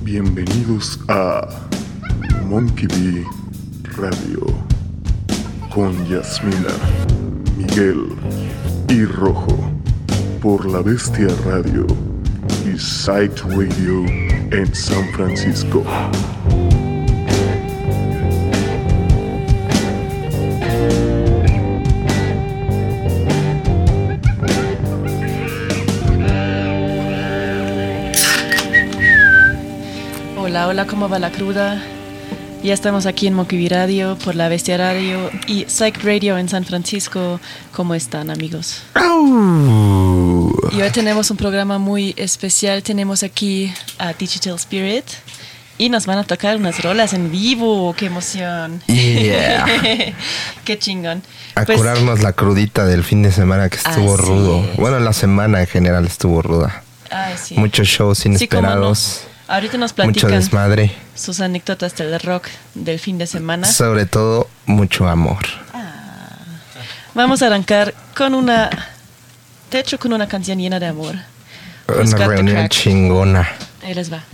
Bienvenidos a Monkey Bee Radio con Yasmina, Miguel y Rojo por La Bestia Radio y Psyched Radio en San Francisco. Hola, ¿cómo va la cruda? Ya estamos aquí en Monkey Bee Radio por La Bestia Radio y Psyched Radio en San Francisco. ¿Cómo están, amigos? Y hoy tenemos un programa muy especial. Tenemos aquí a Digital Spirit y nos van a tocar unas rolas en vivo. ¡Qué emoción! Yeah. ¡Qué chingón! A curarnos la crudita del fin de semana que estuvo rudo. Es. Bueno, la semana en general estuvo ruda. Sí. Muchos shows inesperados. Sí, ahorita nos platican mucho desmadre. sus anécdotas del rock del fin de semana. Sobre todo, mucho amor. Vamos a arrancar con una canción llena de amor. Una reunión chingona. Ahí les va.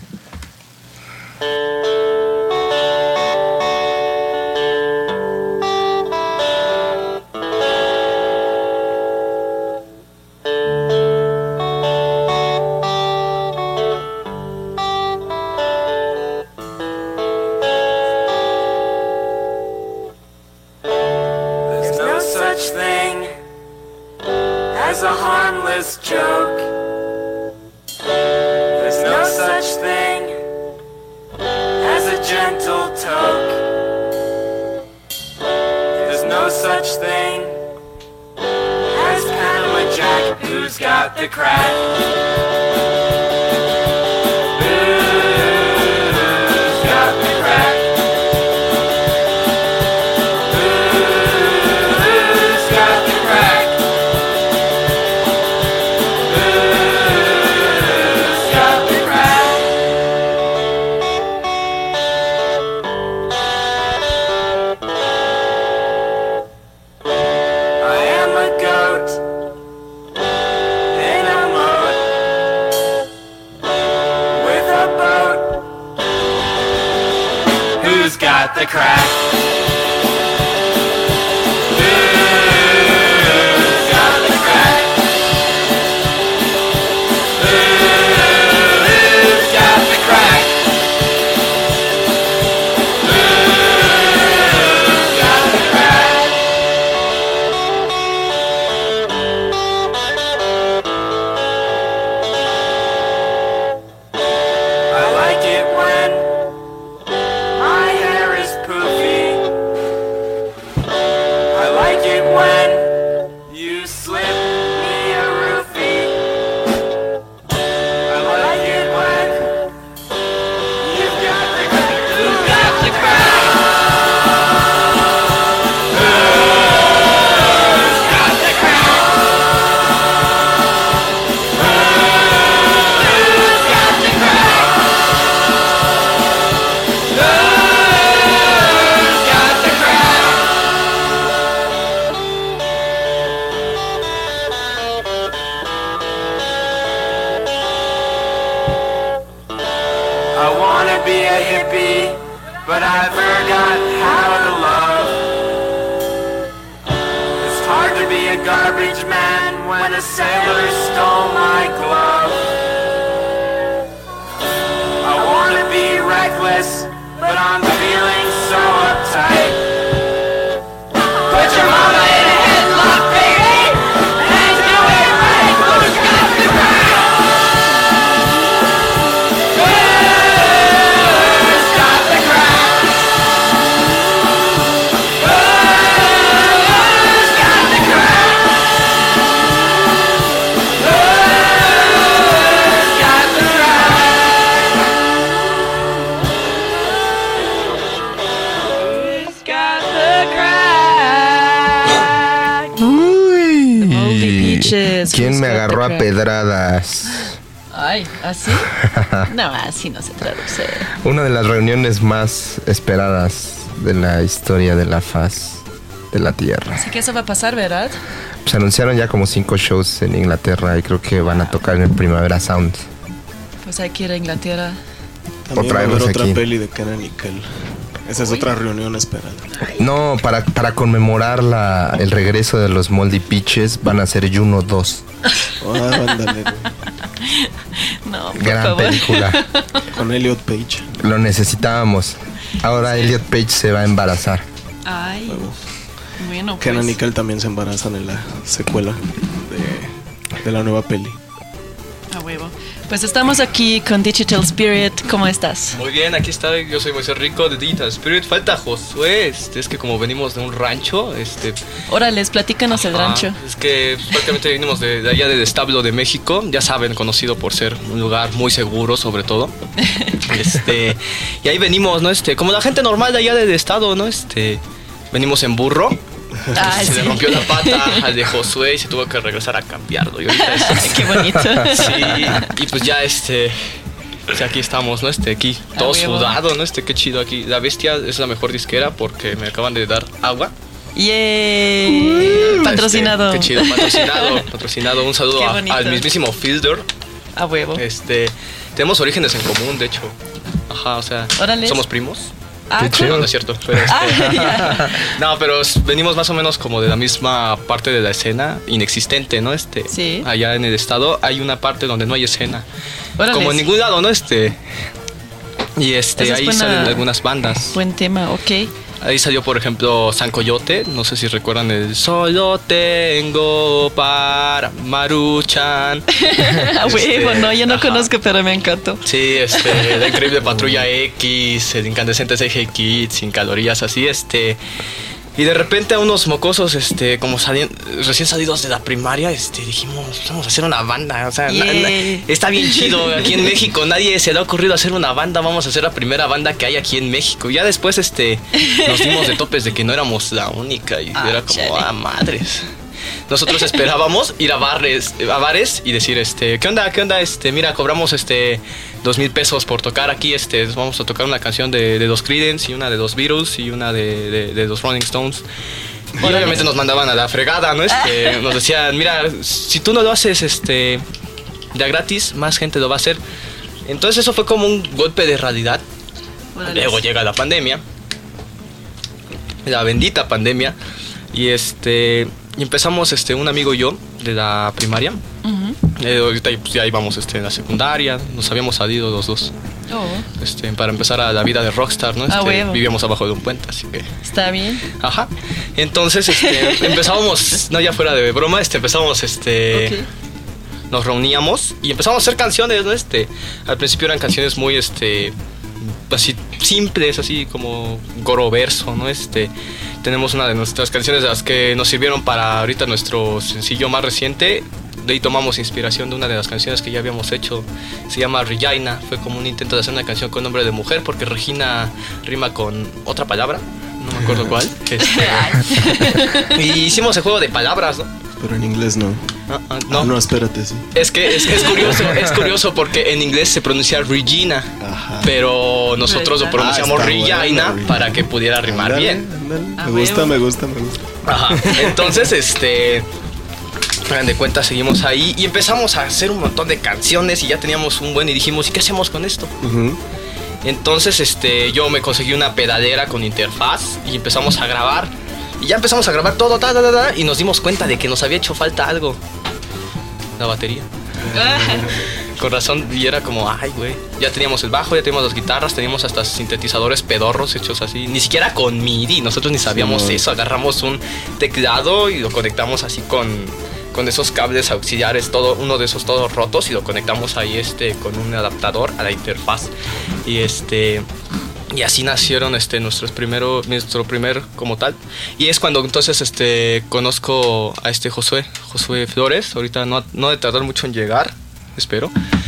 ¿Quién me agarró a pedradas? Ay, ¿así? No, así no se traduce. Una de las reuniones más esperadas de la historia de la faz de la Tierra. Así que eso va a pasar, ¿verdad? Se anunciaron ya como 5 shows en Inglaterra y creo que van a tocar en el Primavera Sound. Pues hay que ir a Inglaterra. También va a traerlos haber otra aquí. peli de Kenan y Kel. Esa es otra reunión esperada. No, para conmemorar el regreso de los Moldy Peaches van a ser Juno 2. Ándale, güey. No, por Gran favor. película. Con Elliot Page. Lo necesitábamos. Ahora Elliot Page se va a embarazar. Ay, bueno, pues. Kenan y Kel también se embarazan en la secuela de la nueva peli. A huevo. Pues estamos aquí con Digital Spirit. ¿Cómo estás? Muy bien, aquí está, yo soy Moisés Rico de Digital Spirit. Falta Josué, es que como venimos de un rancho, Órales, platícanos el rancho. es que prácticamente venimos de allá del establo de México, ya saben, conocido por ser un lugar muy seguro sobre todo. Y ahí venimos, ¿no? Como la gente normal de allá del estado, ¿no? Venimos en burro. Ah, Se sí. le rompió la pata al de Josué y se tuvo que regresar a cambiarlo. Y ahorita Ay, qué bonito. sí, y pues ya pues aquí estamos, ¿no? Aquí todo huevo. sudado, ¿no? Qué chido aquí. La Bestia es la mejor disquera porque me acaban de dar agua. ¡Yay! Patrocinado. Qué chido, patrocinado. Un saludo Qué bonito. al mismísimo Fielder. A huevo. Tenemos orígenes en común, de hecho. Ajá, o sea, Órale. somos primos. Ah, Qué cool. chido. No, no es cierto. Pero Ah, no, pero venimos más o menos como de la misma parte de la escena inexistente, ¿no? Sí. Allá en el estado hay una parte donde no hay escena. Órale. Como en ningún lado, ¿no? Y Esa es ahí buena- salen algunas bandas. Buen tema, ok. Ahí salió, por ejemplo, San Coyote. No sé si recuerdan el Solo tengo para Maruchan. A huevo, no, yo no ajá. conozco, pero me encantó. Sí, la increíble Patrulla X, el incandescente CG Kids, sin calorías, así, Y de repente a unos mocosos, como recién salidos de la primaria, dijimos, vamos a hacer una banda. O sea, Yeah. está bien chido. Aquí en México nadie se le ha ocurrido hacer una banda. Vamos a hacer la primera banda que hay aquí en México. Y ya después, nos dimos de topes de que no éramos la única. Y Ah, era como, chale. madres. Nosotros esperábamos ir a bares y decir, ¿qué onda? Mira, cobramos 2,000 pesos por tocar aquí, vamos a tocar una canción de los Creedence y una de los Beatles y una de los Rolling Stones. Y obviamente nos mandaban a la fregada, ¿no? Nos decían, mira, si tú no lo haces de a gratis, más gente lo va a hacer. Entonces eso fue como un golpe de realidad. Órale. Luego llega la pandemia, la bendita pandemia, y y empezamos un amigo y yo de la primaria. Ujú. Ahorita pues, ya íbamos en la secundaria, nos habíamos salido los dos Oh, para empezar a la vida de rockstar, ¿no? huevo. Vivíamos abajo de un puente, así que está bien. ajá. Entonces empezábamos, no, ya fuera de broma, empezábamos Ok. nos reuníamos y empezamos a hacer canciones, ¿no? Al principio eran canciones muy así simples, así como goroverso, ¿no? Tenemos una de nuestras canciones de las que nos sirvieron para ahorita nuestro sencillo más reciente. De ahí tomamos inspiración de una de las canciones que ya habíamos hecho. Se llama Regina. Fue como un intento de hacer una canción con nombre de mujer, porque Regina rima con otra palabra. No me acuerdo cuál. Y hicimos el juego de palabras, ¿no? Pero en inglés no. No. No, espérate, sí. Es que es curioso porque en inglés se pronuncia Regina, Ajá. pero nosotros lo pronunciamos está Regina bueno, para que pudiera rimar Ándale, bien. ándale. A Me gusta, huevo. me gusta, me gusta. Ajá. Entonces, hagan de cuenta, seguimos ahí y empezamos a hacer un montón de canciones y ya teníamos un buen y dijimos, ¿y qué hacemos con esto? Ujú. Entonces, yo me conseguí una pedalera con interfaz y empezamos a grabar. Y ya empezamos a grabar todo, y nos dimos cuenta de que nos había hecho falta algo. La batería. Con razón, y era como, ay, güey. Ya teníamos el bajo, ya teníamos las guitarras, teníamos hasta sintetizadores pedorros hechos así. Ni siquiera con MIDI, nosotros ni sabíamos Sí. eso. Agarramos un teclado y lo conectamos así con esos cables auxiliares, uno de esos todos rotos, y lo conectamos ahí con un adaptador a la interfaz. Y así nacieron nuestro primer como tal. Y es cuando entonces conozco a Josué Flores. Ahorita no de tardar mucho en llegar, espero.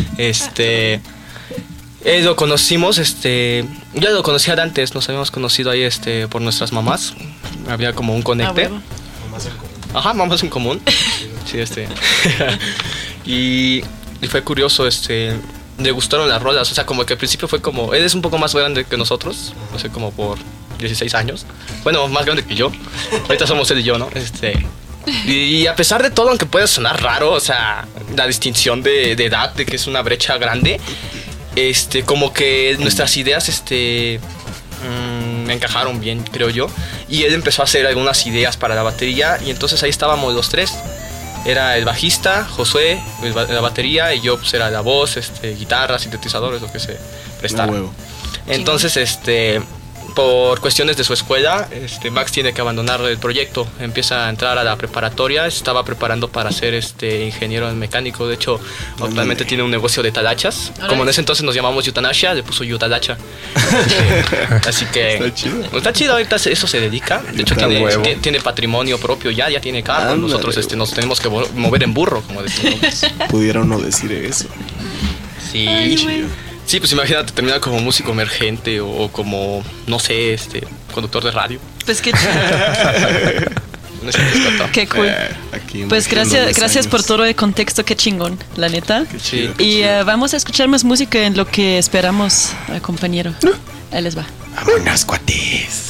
Lo conocimos, ya lo conocía de antes, nos habíamos conocido ahí por nuestras mamás. Había como un Ah, conecte. huevo. Ajá, mamás en común. Sí, y fue curioso, le gustaron las rolas, o sea, como que al principio fue como, él es un poco más grande que nosotros, no sé, como por 16 años. Bueno, más grande que yo. Ahorita somos él y yo, ¿no? Y a pesar de todo, aunque pueda sonar raro, o sea, la distinción de edad, de que es una brecha grande, como que nuestras ideas me encajaron bien, creo yo. Y él empezó a hacer algunas ideas para la batería y entonces ahí estábamos los tres. Era el bajista, Josué, la batería, y yo pues era la voz, guitarra, sintetizadores, lo que se prestara. Entonces, por cuestiones de su escuela, Max tiene que abandonar el proyecto, empieza a entrar a la preparatoria, estaba preparando para ser ingeniero mecánico, de hecho actualmente tiene un negocio de talachas, como en ese entonces nos llamamos Yutanasia, le puso Yutalacha. Así que está chido, ahorita eso se dedica, de hecho tiene patrimonio propio, ya tiene carro, nosotros nos tenemos que mover en burro, como decimos. Pudiera uno decir eso. Sí. Ay, sí, pues imagínate terminar como músico emergente o como, no sé, conductor de radio. Pues qué chido. Qué cool. Pues gracias por todo el contexto, qué chingón, la neta. Qué chido, y vamos a escuchar más música en lo que esperamos al compañero. Ahí les va. Vámonos, cuates.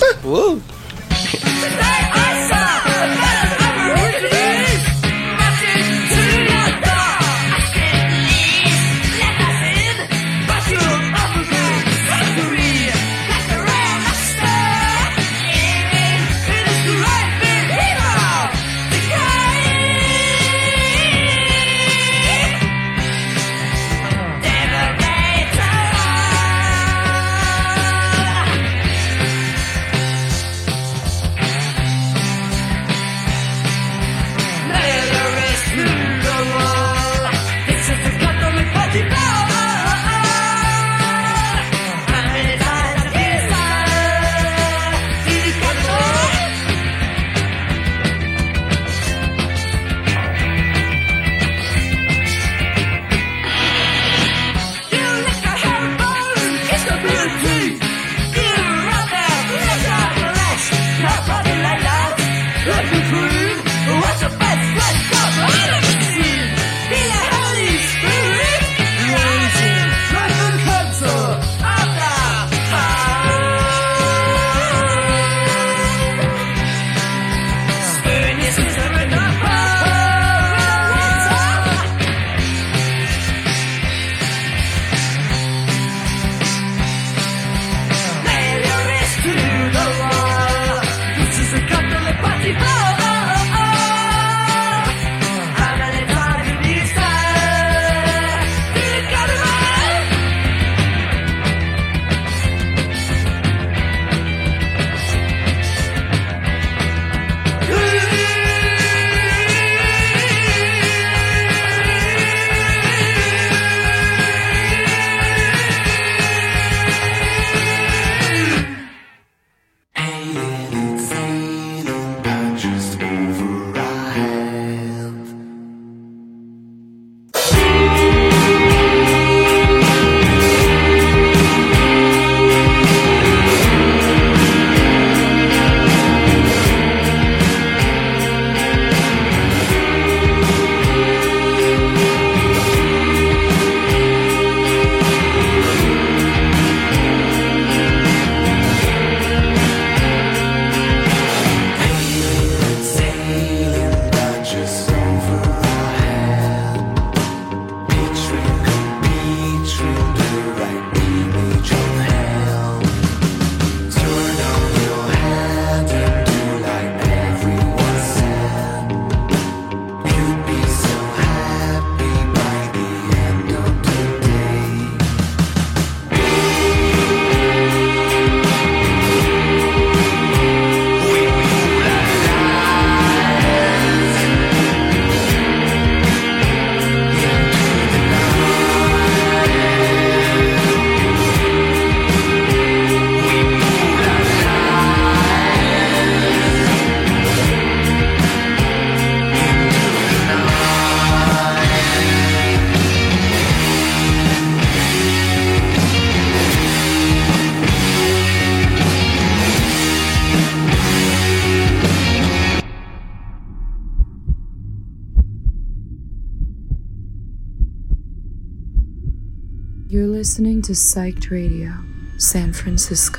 You're listening to Psyched Radio, San Francisco.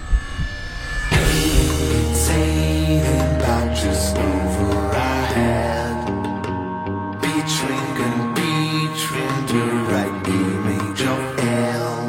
Just over our head, beach ring and beach ring, the right image of hell.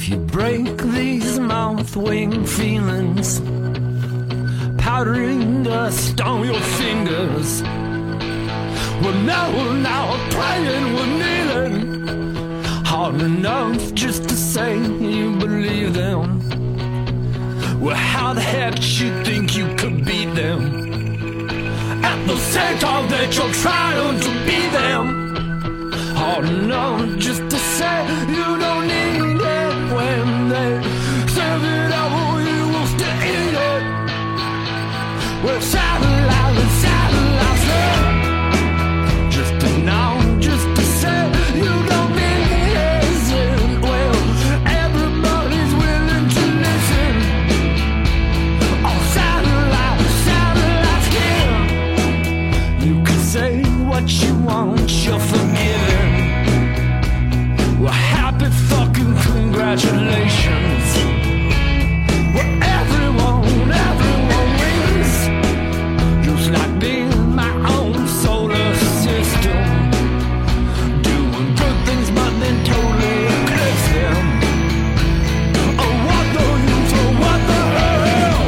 If you break these mouth-wing feelings, powdering dust on your fingers, well now praying we're kneeling, hard enough just to say you believe them. Well, how the heck you think you could beat them at the same time that you're trying to be them? Hard enough just to say you don't need it when they serve it up, you will still eat it. Well, satellites, yeah. Just to know, just to say you don't need it. Well, everybody's willing to listen. Oh, satellites, yeah. You can say what you want, you're forgiven. Well, happy fucking congratulations. Well, everyone wins. Just like being my own solar system, doing good things but then totally eclipse them. Oh, what the use, oh, what the hell?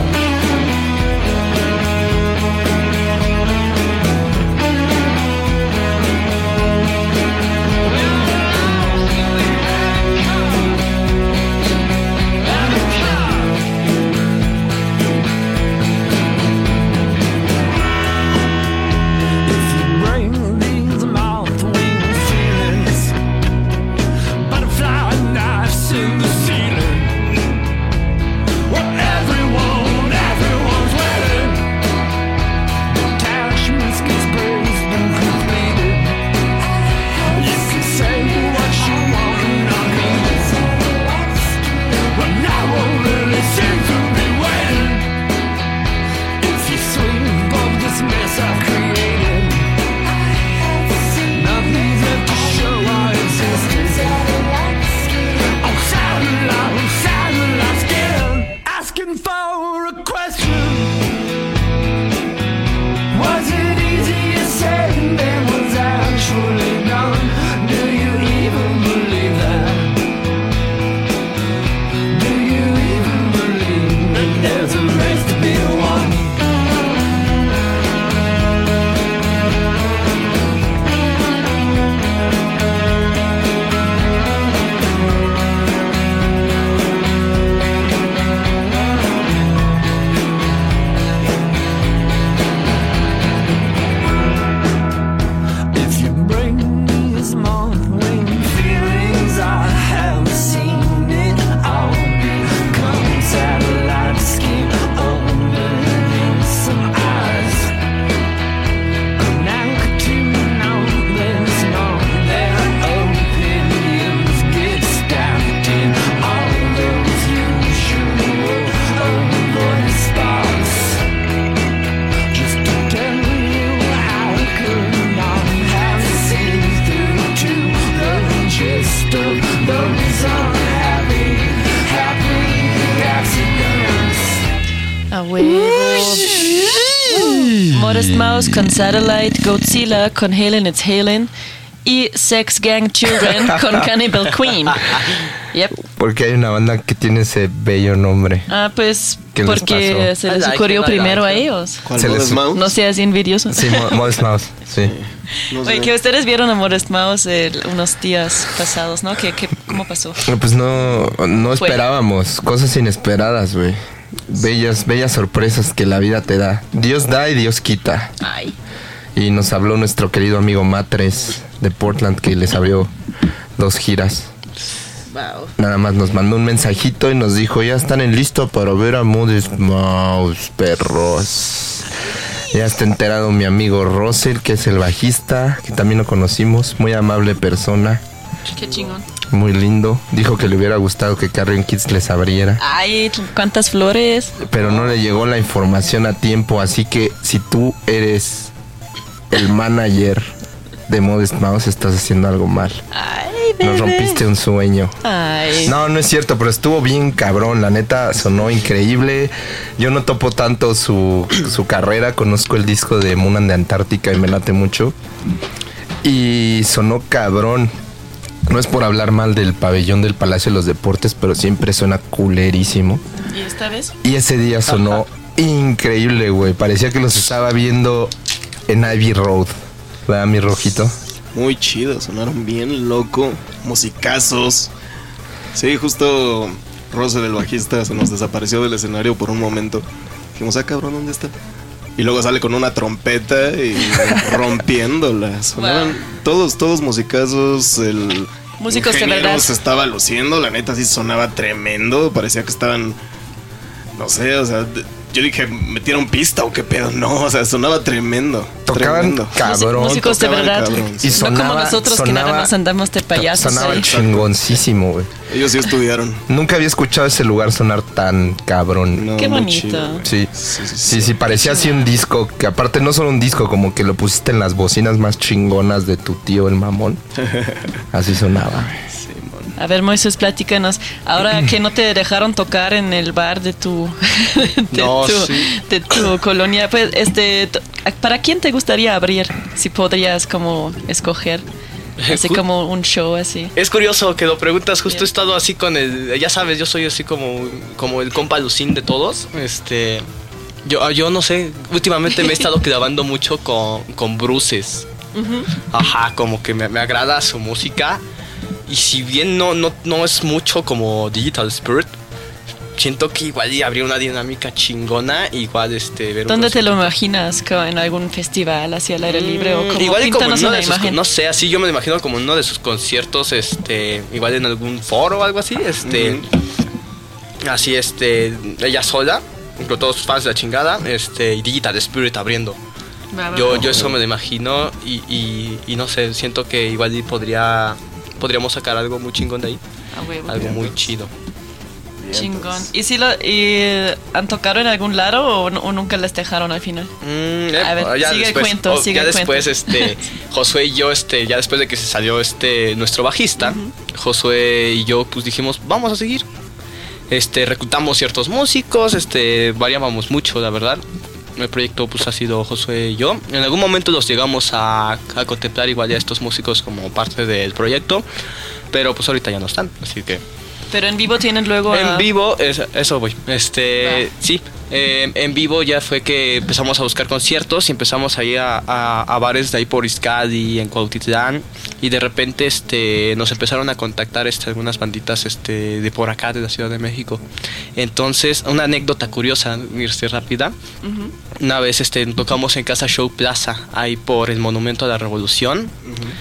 If you bring these mouth-wing feelings, butterfly knives in the ceiling, well, everyone's waiting. Detachments get sprays been completed. You can say what you want and I mean it. But no one really seems to be waiting. If you sweep up this mess I've created, nothing's left to show our existence. Oh, satellites again, asking for a question. Was it easier said than was actually done? Do you even believe that? Do you even believe that there's a race to be won? If you bring these month-wing feelings, I have seen it all become satellite skin opening some eyes. Now to know there's no their opinions get stacked in all those usual voice spots. Just to tell you how I could not have seen through to the gist of those unhappy accidents. A huevo. Modest Mouse con Satellite, Godzilla con Helen It's Helen y Sex Gang Children con Cannibal Queen. Yep. Porque hay una banda que tiene ese bello nombre. Ah, pues ¿Qué les porque pasó? se les I ocurrió like it, I primero a like it. ellos. ¿Cuál? Se les- ¿Modest Mouse? No seas envidioso. Sí, Modest Mouse, sí. No sé. Oye, que ustedes vieron a Modest Mouse unos días pasados, ¿no? ¿Cómo pasó? Pues no Fue. esperábamos, cosas inesperadas, güey. Bellas sorpresas que la vida te da. Dios da y Dios quita. Ay. Y nos habló nuestro querido amigo Matres de Portland, que les abrió 2 giras. Wow. Nada más nos mandó un mensajito y nos dijo: ya están en listo para ver a Modest Mouse, perros. Ya está enterado mi amigo Russell, que es el bajista, que también lo conocimos. Muy amable persona, Qué chingón. muy lindo. Dijo que le hubiera gustado que Carrion Kids les abriera, Ay, cuántas flores. pero no le llegó la información a tiempo. Así que si tú eres el manager de Modest Mouse, estás haciendo algo mal. Ay, bebé. Nos rompiste un sueño. Ay. No, no es cierto, pero estuvo bien cabrón. La neta sonó increíble. Yo no topo tanto su carrera. Conozco el disco de Moon and the Antártica y me late mucho. Y sonó cabrón. No es por hablar mal del pabellón del Palacio de los Deportes, pero siempre suena culerísimo. ¿Y esta vez? Y ese día sonó increíble, güey. Parecía que los estaba viendo en Ivy Road. ¿Verdad, mi Rojito? Muy chido, sonaron bien loco. Musicazos. Sí, justo Rose, el bajista, se nos desapareció del escenario por un momento. Dijimos, cabrón, ¿dónde está? Y luego sale con una trompeta y rompiéndola. Sonaban todos musicazos. El músicos de ingeniero verdad. se estaba luciendo, la neta sí sonaba tremendo. Parecía que estaban, no sé, o sea, yo dije, ¿metieron pista o qué pedo? No, o sea, sonaba tremendo. Tocaban tremendo. cabrón. Músicos de tocaban verdad. cabrón, Y sí. No como nosotros que nada más andamos de payasos. Sonaba ahí. chingoncísimo, güey. Ellos sí estudiaron. Nunca había escuchado ese lugar sonar tan cabrón. No, Qué muy bonito. chido, güey. Sí. Sí. Sí, parecía así un disco, que aparte no solo un disco, como que lo pusiste en las bocinas más chingonas de tu tío el mamón. Así sonaba. A ver, Moisés, platícanos. Ahora que no te dejaron tocar en el bar de tu de tu colonia, pues ¿para quién te gustaría abrir? Si podrías como escoger. Así como un show así. Es curioso que lo preguntas, justo Bien. he estado así con ya sabes, yo soy así como el compa Lucín de todos. Yo no sé, últimamente me he estado grabando mucho con Bruces. Ajá, como que me agrada su música. Y si bien no es mucho como Digital Spirit, siento que igual habría una dinámica chingona. Igual ver ¿Dónde te lo imaginas? ¿En algún festival así al aire libre? O como igual como en píntanos uno una de sus, imagen. no sé, así yo me lo imagino como en uno de sus conciertos, igual en algún foro o algo así, así ella sola, con todos sus fans de la chingada, y Digital Spirit abriendo. Yo eso me lo imagino y no sé, siento que igual podríamos sacar algo muy chingón de ahí. A huevo. Algo muy chido. Chingón. ¿Y si han tocado en algún lado o nunca les dejaron al final? A ver, sigue el cuento. Josué y yo, ya después de que se salió nuestro bajista, Josué y yo pues dijimos, vamos a seguir. Reclutamos ciertos músicos, variábamos mucho, la verdad. El proyecto pues ha sido Josué y yo. En algún momento los llegamos a contemplar igual ya estos músicos como parte del proyecto, pero pues ahorita ya no están, así que... Pero en vivo tienen luego... En vivo, eso voy. Sí, en vivo ya fue que empezamos a buscar conciertos y empezamos a ir a bares de ahí por Izcalli, en Cuautitlán, y de repente nos empezaron a contactar algunas banditas de por acá, de la Ciudad de México. Entonces, una anécdota curiosa, rápida. Una vez tocamos en Casa Show Plaza, ahí por el Monumento a la Revolución.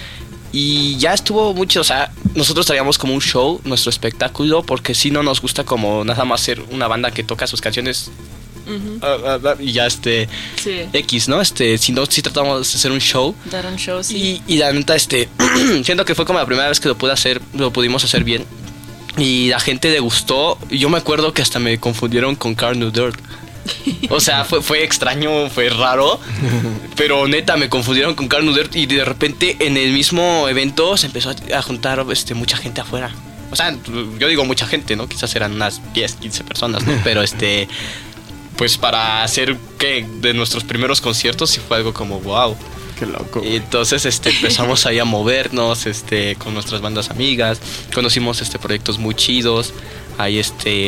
Y ya estuvo mucho, o sea, nosotros traíamos como un show, nuestro espectáculo, porque si no nos gusta como nada más ser una banda que toca sus canciones y ya sí. X, ¿no? Si tratamos de hacer un show. Dar un show, sí. Y la neta, siento que fue como la primera vez que lo pudimos hacer bien. Y la gente le gustó. Y yo me acuerdo que hasta me confundieron con Carl New Dirt. O sea, fue extraño, fue raro. Pero neta, me confundieron con Carl New Dirt. Y de repente en el mismo evento se empezó a juntar mucha gente afuera. O sea, yo digo mucha gente, ¿no? Quizás eran unas 10, 15 personas, ¿no? Pero pues para hacer que de nuestros primeros conciertos sí fue algo como wow. Qué loco. Y entonces empezamos ahí a movernos con nuestras bandas amigas. Conocimos proyectos muy chidos. Ahí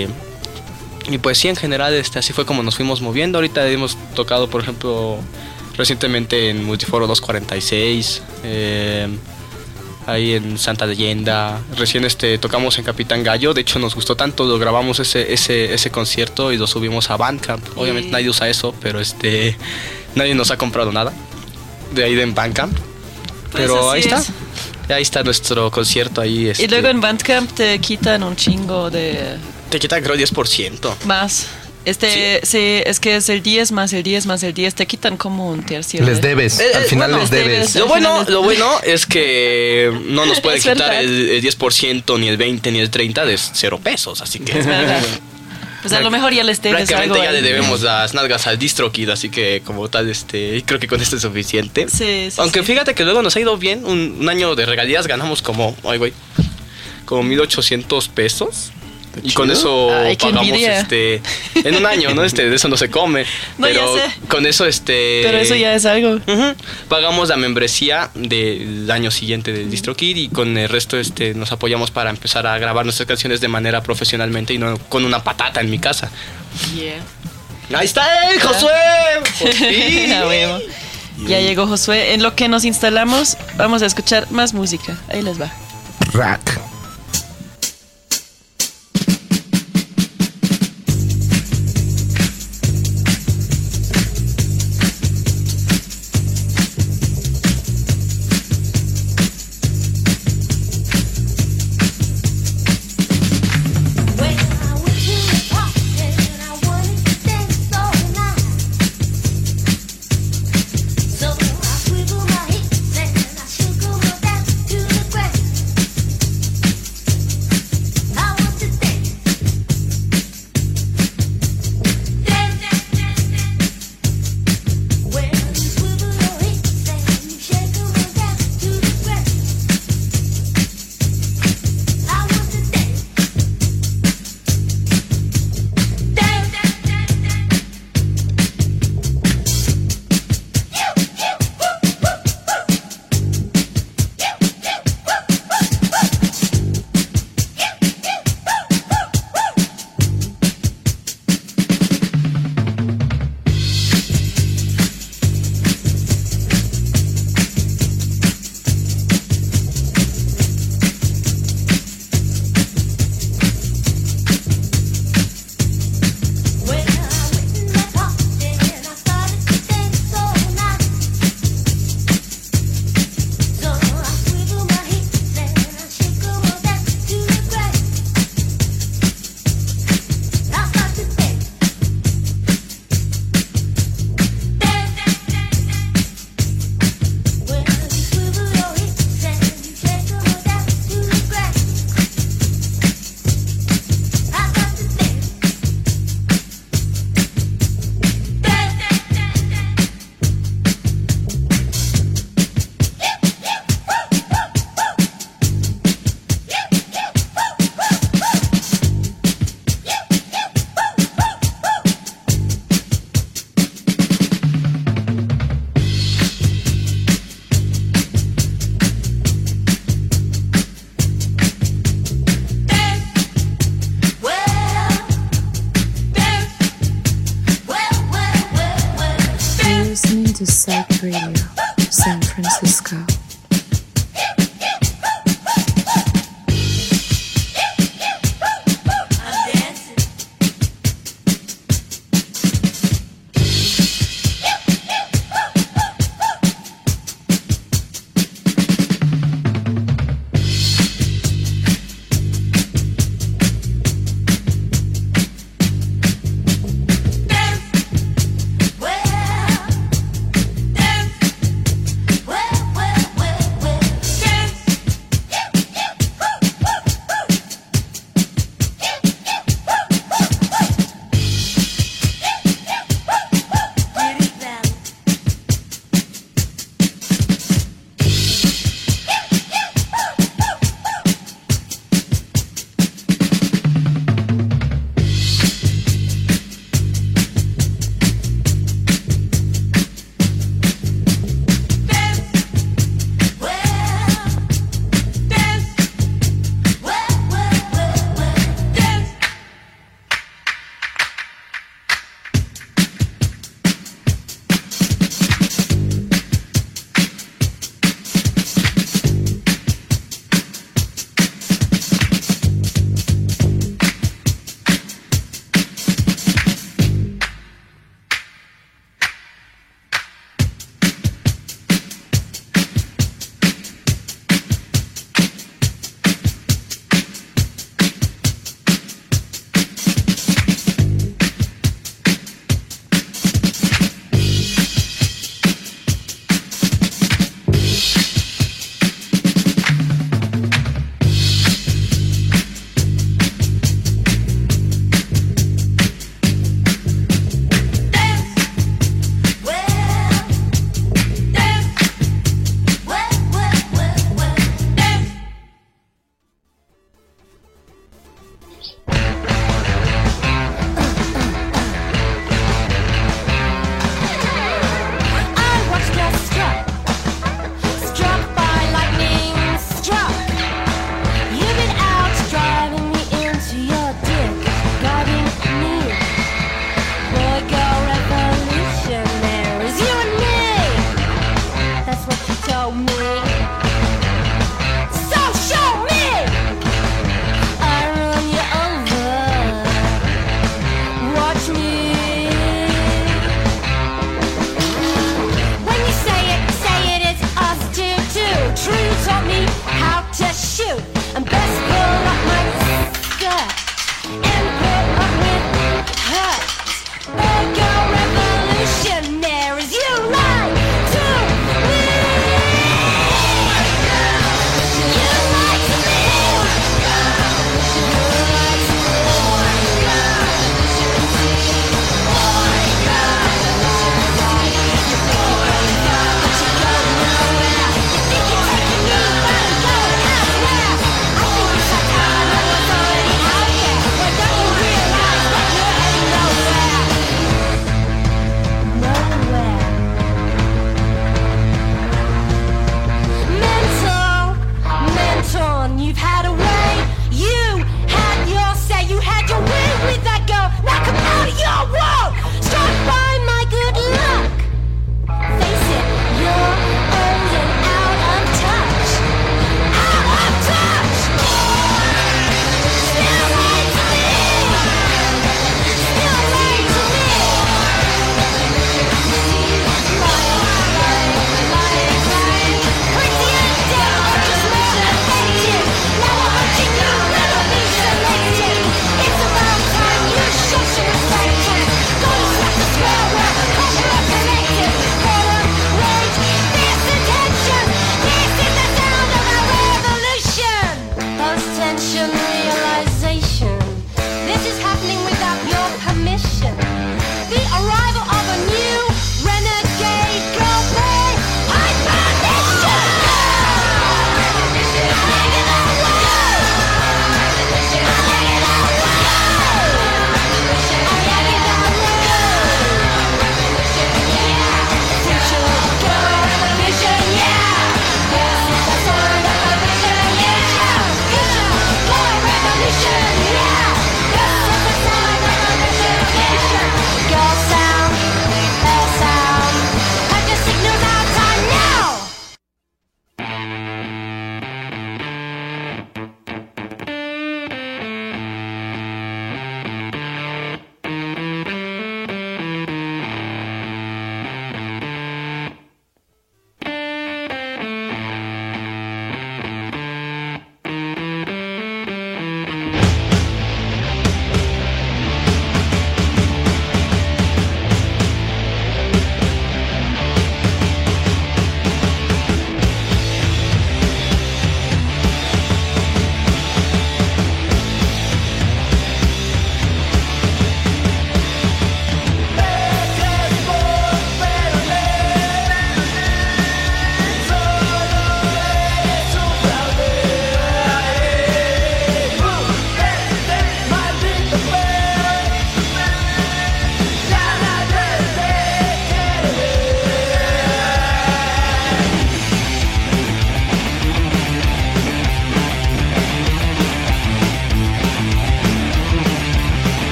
y pues sí, en general así fue como nos fuimos moviendo. Ahorita hemos tocado, por ejemplo, recientemente en Multiforo 246, ahí en Santa Leyenda. Recién tocamos en Capitán Gallo. De hecho nos gustó tanto, lo grabamos ese concierto y lo subimos a Bandcamp. Obviamente nadie usa eso, pero nadie nos ha comprado nada de ahí en Bandcamp. Pues pero ahí está. es. Ahí está nuestro concierto ahí. Y luego en Bandcamp te quitan un chingo de... Te quitan creo 10%. Más. Sí, es que es el 10 más el 10 más el 10. Te quitan como un tercio. Les debes, al final les debes. Lo bueno es que no nos puede Es quitar verdad. el 10%, ni el 20, ni el 30 de 0 pesos. Así que Es verdad. Pues a lo mejor ya les debes algo. prácticamente ya le ahí. debemos las nalgas al DistroKid. Así que como tal, creo que con esto es suficiente. Sí, Aunque sí. fíjate que luego nos ha ido bien. Un año de regalías ganamos como 1,800 pesos. Y con eso Ay, qué pagamos envidia. en un año, ¿no? De eso no se come. No, pero ya sé. con eso Pero eso ya es algo. Ujú. Pagamos la membresía del año siguiente del DistroKid y con el resto nos apoyamos para empezar a grabar nuestras canciones de manera profesionalmente y no con una patata en mi casa. Yeah. ¡Ahí está él, Josué! ¡Por fin! A huevo. Ya llegó Josué. En lo que nos instalamos, vamos a escuchar más música. Ahí les va. Rack. To Psych Radio, San Francisco.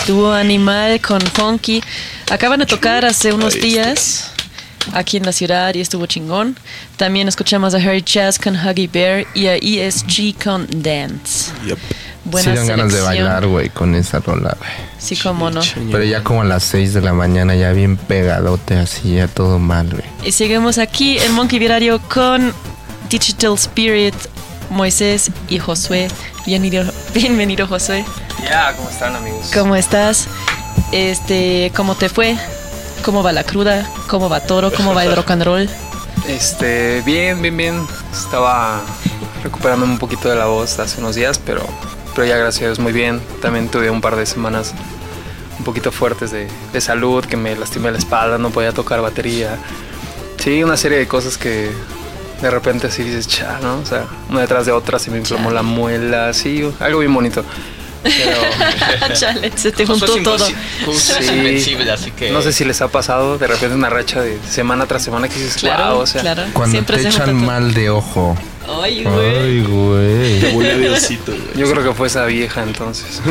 Dúo Animal con Funky. Acaban de tocar hace unos días aquí en la ciudad y estuvo chingón. También escuchamos a Harry Chaz con Huggy Bear y a ESG con Dance. Yep. Buena Sí dan ganas de selección. bailar, güey, con esa rola, güey. Sí, cómo no. Pero ya como a las 6 de la mañana, ya bien pegadote, así, ya todo mal, güey. Y seguimos aquí en Monkey Viradio con Digital Spirit, Moisés y Josué. Bienvenido Josué. Ya, ¿cómo están, amigos? ¿Cómo estás? ¿Cómo te fue? ¿Cómo va la cruda? ¿Cómo va todo? ¿Cómo va el rock and roll? Bien. Estaba recuperándome un poquito de la voz hace unos días, pero ya gracias a Dios muy bien. También tuve un par de semanas un poquito fuertes de salud, que me lastimé la espalda, no podía tocar batería. Sí, una serie de cosas que de repente así dices, cha, ¿no? O sea, una detrás de otra, se me inflamó la muela, sí, algo bien bonito. Pero Chale, se te juntó Josué todo. Josué es invencible, así que... no sé si les ha pasado de repente una racha de semana tras semana que dices, Claro, wow, o sea, claro. Cuando Siempre te se echan junta todo. mal de ojo. Ay, güey. Ay, güey. Te huele a Diosito, güey. yo creo que fue esa vieja entonces.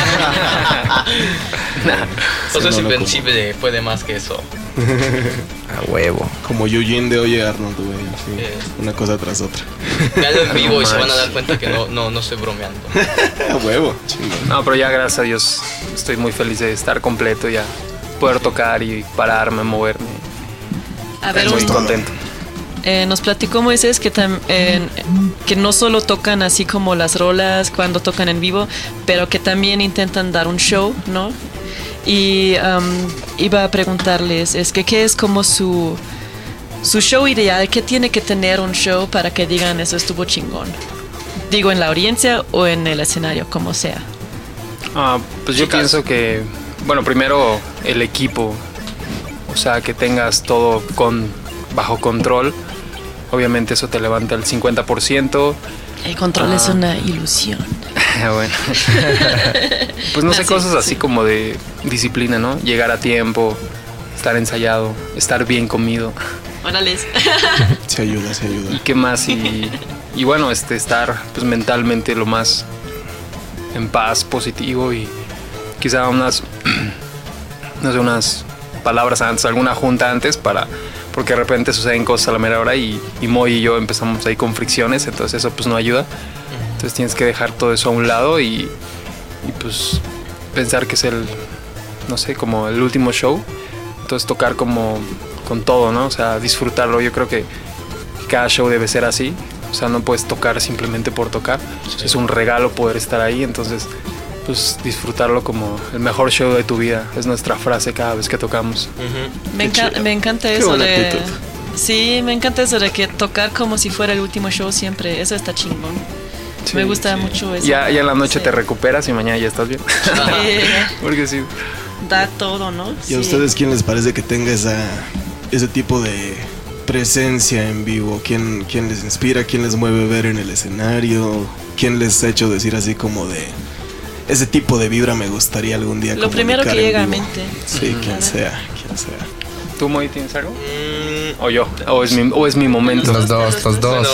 Josué es Sí, no, no, invencible, puede más que eso. A huevo. Como Eugene de Oye Arnold, güey. Así, una cosa tras otra. Veanlo en vivo y se van a manches. dar cuenta que no estoy bromeando. A huevo. Chingón. No, pero ya gracias a Dios estoy muy feliz de estar completo, ya poder tocar y pararme, moverme. A ver, Muy un- contento. nos platicó Moisés que no solo tocan así como las rolas cuando tocan en vivo, pero que también intentan dar un show, ¿no? Y iba a preguntarles, ¿qué es como su show ideal? ¿Qué tiene que tener un show para que digan eso estuvo chingón? Digo, en la audiencia o en el escenario, como sea. Pues yo Chicas. pienso que, bueno, primero el equipo, o sea, que tengas todo bajo control. Obviamente eso te levanta el 50%. El control es una ilusión. Bueno. Pues no sé, Así, cosas así sí. como de disciplina, ¿no? Llegar a tiempo, estar ensayado, estar bien comido. Órales. Se ayuda. ¿Y qué más? Y bueno, estar pues mentalmente lo más en paz, positivo y quizá unas palabras antes, alguna junta antes porque de repente suceden cosas a la mera hora y Moy y yo empezamos ahí con fricciones, entonces eso pues no ayuda. Entonces tienes que dejar todo eso a un lado y pues pensar que es no sé, como el último show. Entonces tocar como con todo, ¿no? O sea, disfrutarlo. Yo creo que cada show debe ser así. O sea, no puedes tocar simplemente por tocar. Sí. Es un regalo poder estar ahí. Entonces, pues disfrutarlo como el mejor show de tu vida. Es nuestra frase cada vez que tocamos. Me encanta Qué eso buena de... actitud. Sí, me encanta eso de que tocar como si fuera el último show siempre. Eso está chingón. Sí, Me gusta sí. mucho eso. Ya en la noche Sí. te recuperas y mañana ya estás bien. Porque sí. Da todo, ¿no? ¿Y a ustedes quién les parece que tenga ese tipo de presencia en vivo? ¿Quién les inspira? ¿Quién les mueve ver en el escenario? ¿Quién les ha hecho decir así como de ese tipo de vibra me gustaría algún día Lo primero que comunicar en llega a vivo"? mente. Sí, quien Claro. sea. ¿Tú, Moy, tienes algo? ¿O yo? ¿O es mi momento? Los dos. Bueno,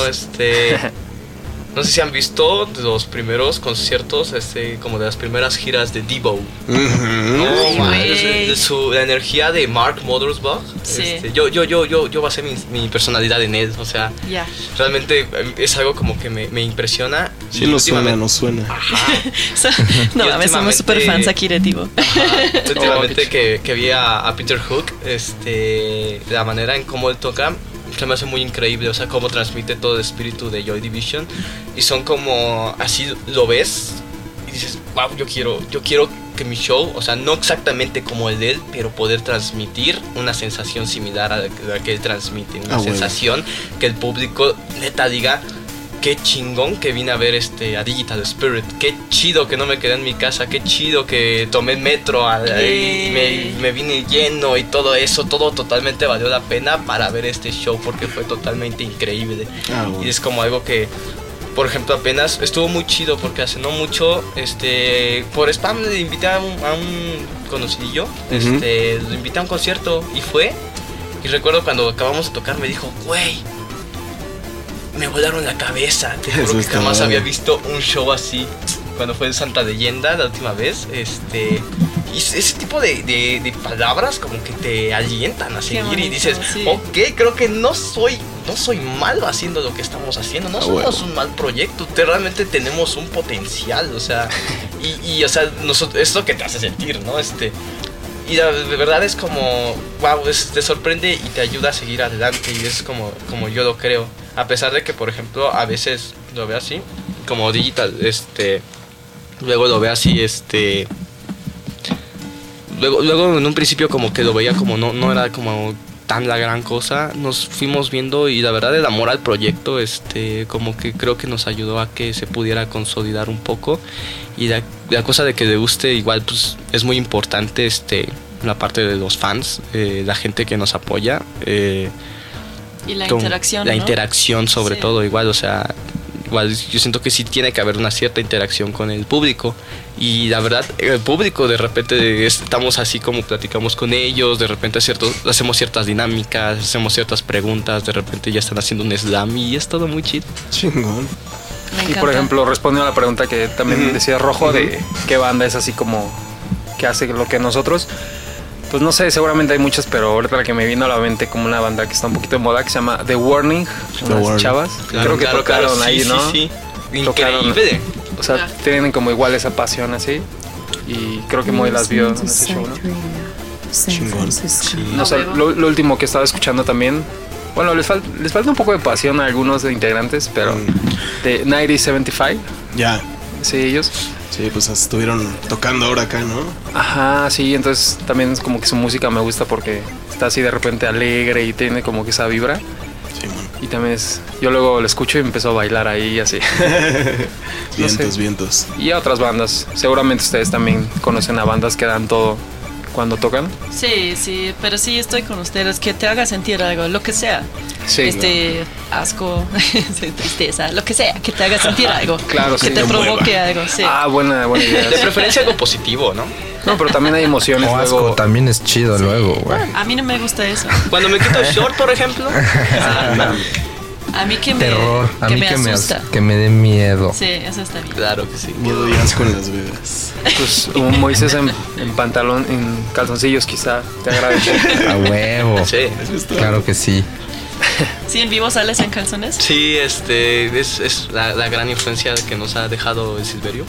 no sé si han visto los primeros conciertos, como de las primeras giras de Devo. Ay, güey. La energía de Mark Mothersbaugh. Sí. Yo basé mi personalidad en él. O sea, Ya. realmente es algo como que me impresiona. Sí, Y nos suena, últimamente- nos suena. No, Y a veces somos últimamente- super fans aquí de Divo. Últimamente que vi a Peter Hook, la manera en cómo él toca se me hace muy increíble, o sea, cómo transmite todo el espíritu de Joy Division y son como, así lo ves y dices, wow, yo quiero que mi show, o sea, no exactamente como el de él, pero poder transmitir una sensación similar a la que él transmite, una bueno. sensación que el público neta diga, qué chingón que vine a ver a Digital Spirit, qué chido que no me quedé en mi casa, qué chido que tomé el metro y me vine lleno y todo eso, todo totalmente valió la pena para ver este show porque fue totalmente increíble. Bueno. Y es como algo que, por ejemplo, apenas estuvo muy chido porque hace no mucho, por spam le invité a un conocidillo, lo invité a un concierto y fue, y recuerdo cuando acabamos de tocar me dijo, güey, me volaron la cabeza, te Eso juro que está jamás mal. había visto un show así. Cuando fue en Santa Leyenda la última vez, Y ese tipo de palabras como que te alientan a seguir bonito, y dices, sí. ok, creo que no soy malo haciendo lo que estamos haciendo, no somos un mal proyecto, realmente tenemos un potencial, o sea, y o sea, es lo que te hace sentir, ¿no? Y de verdad es como, wow, te sorprende y te ayuda a seguir adelante y es como yo lo creo. A pesar de que, por ejemplo, a veces lo veo así, como digital, luego lo veo así, luego en un principio como que lo veía como no era como tan la gran cosa, nos fuimos viendo y la verdad el amor al proyecto, como que creo que nos ayudó a que se pudiera consolidar un poco y la cosa de que le guste igual pues es muy importante, la parte de los fans, la gente que nos apoya, y la interacción, la ¿no? interacción sobre Sí. todo igual, o sea, igual yo siento que sí tiene que haber una cierta interacción con el público y la verdad el público de repente estamos así como platicamos con ellos, de repente hacemos ciertas dinámicas, hacemos ciertas preguntas, de repente ya están haciendo un slam y es todo muy chido. Chingón. Me Y encanta. por ejemplo, respondiendo a la pregunta que también decía Rojo de qué banda es así como que hace lo que nosotros, pues no sé, seguramente hay muchas, pero ahorita la que me vino a la mente como una banda que está un poquito de moda que se llama The Warning, unas Warning. chavas. Creo que tocaron sí, ahí, ¿no? Sí. Tocaron. Increíble. O sea, tienen como igual esa pasión así. Y creo que Moy las vio en ese show, ¿no? Chingón. No sé, lo último que estaba escuchando también. Bueno, les falta un poco de pasión a algunos de integrantes, pero de 9075, Ya. sí, ellos. Sí, pues estuvieron tocando ahora acá, ¿no? Ajá, sí, entonces también es como que su música me gusta porque está así de repente alegre y tiene como que esa vibra. Sí, man. Y también yo luego lo escucho y empiezo a bailar ahí y así. Vientos, sé. vientos. Y a otras bandas, seguramente ustedes también conocen a bandas que dan todo cuando tocan. Sí, pero sí estoy con ustedes, que te haga sentir algo, lo que sea. Sí, Asco, tristeza, lo que sea, que te haga sentir algo. Claro, que sí. te Te provoque mueva. algo, sí. Ah, buena idea. De preferencia algo positivo, ¿no? No, pero también hay emociones O asco luego. también es chido luego, güey. A mí no me gusta eso. Cuando me quito el short, por ejemplo. A mí que me, Terror. A que mí me asusta. que me dé miedo. Sí, eso está bien. Claro que sí. Miedo y asco en Las Vegas. Pues un Moisés en pantalón, en calzoncillos quizá te agradece. A huevo. Sí. Claro que sí. ¿Sí en vivo sales en calzones? Sí, es la gran influencia que nos ha dejado el Silverio.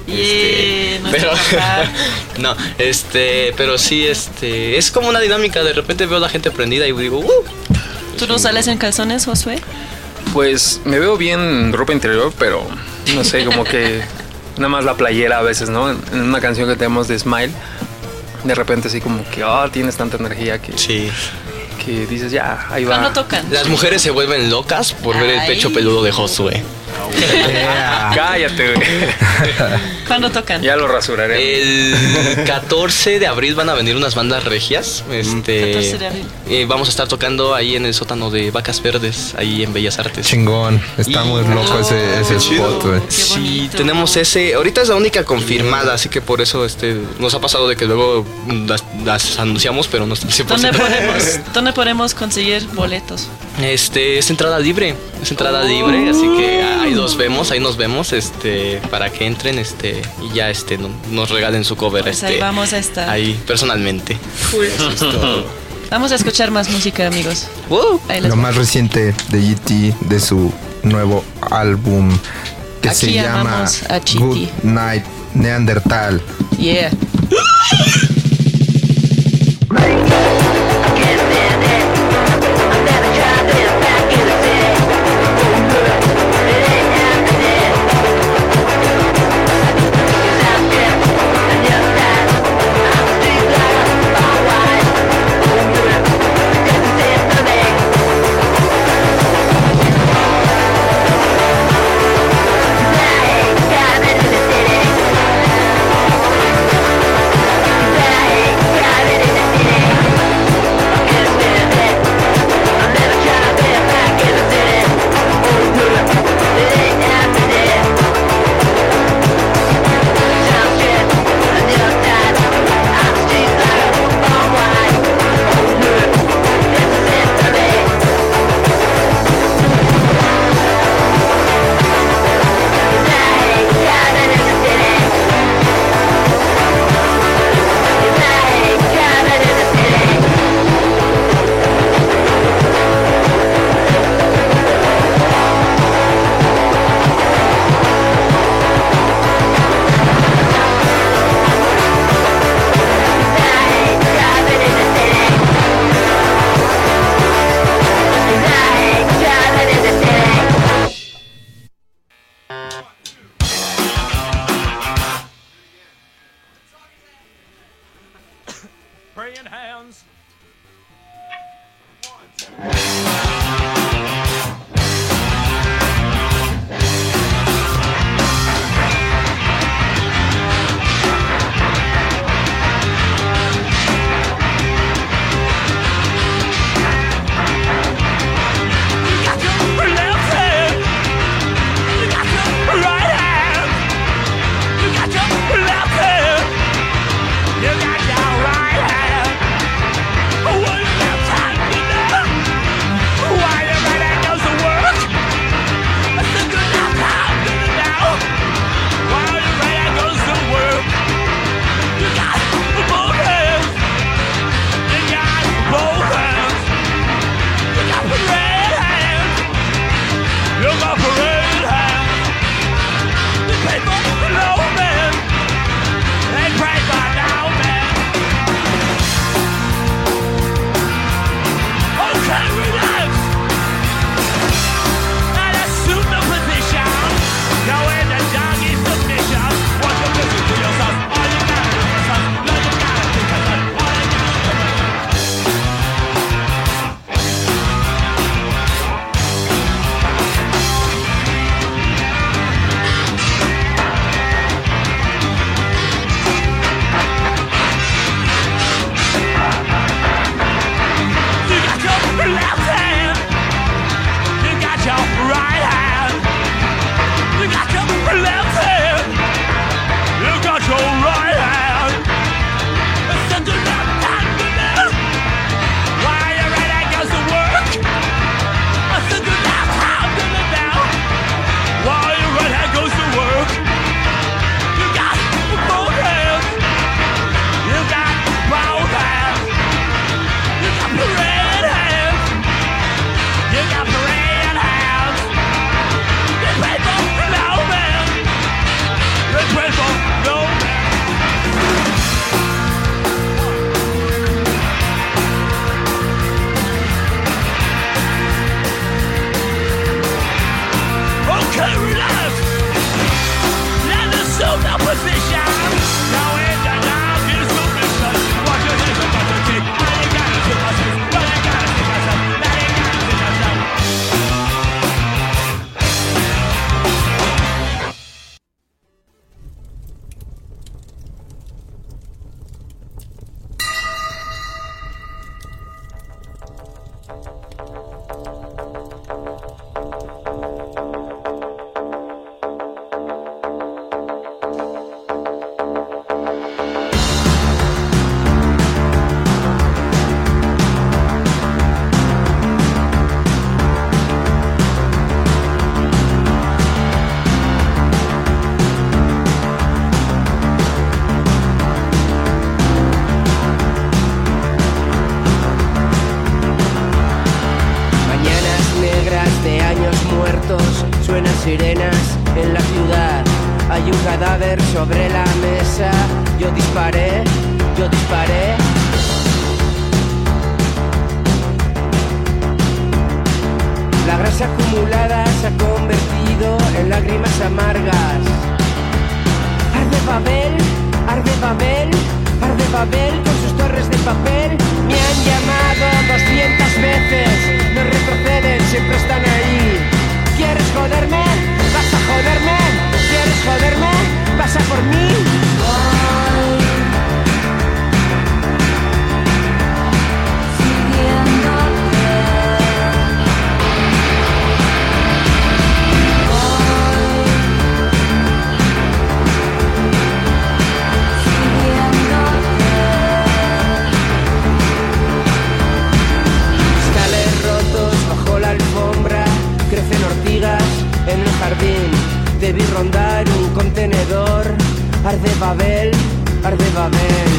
Nuestro papá. No, pero sí, es como una dinámica. De repente veo a la gente prendida y digo, ¿Tú no sales en calzones, Josué? Pues me veo bien en ropa interior, pero no sé, como que nada más la playera a veces, ¿no? En una canción que tenemos de Smile, de repente así como que, tienes tanta energía que, sí. que dices, ya, ahí va. ¿Cuándo tocan? Las mujeres se vuelven locas por ver el Ay. pecho peludo de Josué. Cállate, güey. ¿Cuándo tocan? Ya lo rasuraré. El 14 de abril van a venir unas bandas regias. 14 de abril. Vamos a estar tocando ahí en el sótano de Vacas Verdes, ahí en Bellas Artes. Chingón. Está muy loco ese spot, güey. Qué Sí, bonito. tenemos ese. Ahorita es la única confirmada, así que por eso nos ha pasado de que luego las anunciamos, pero no está al 100%. ¿Dónde podemos conseguir boletos? Es entrada libre, así que ahí nos vemos, para que entren, y ya, nos regalen su cover, Pues ahí vamos a estar. ahí personalmente. Eso es todo. Vamos a escuchar más música, amigos. Ahí les Lo va. más reciente de GT de su nuevo álbum que Aquí se llama amamos a GT. Good Night Neandertal. Yeah. Got into the city. praying hands. Sirenas en la ciudad, hay un cadáver sobre la mesa. Yo disparé. La grasa acumulada se ha convertido en lágrimas amargas. Arde Babel, arde Babel, arde Babel con sus torres de papel. Me han llamado 200 veces, no retroceden, siempre están ahí. ¿Quieres joderme? ¿Vas a joderme? ¿Quieres joderme? ¿Vas a por mí? Cristales rotos bajo la alfombra, crecen ortigas en el jardín. Debí rondar un contenedor. Arde Babel, arde Babel.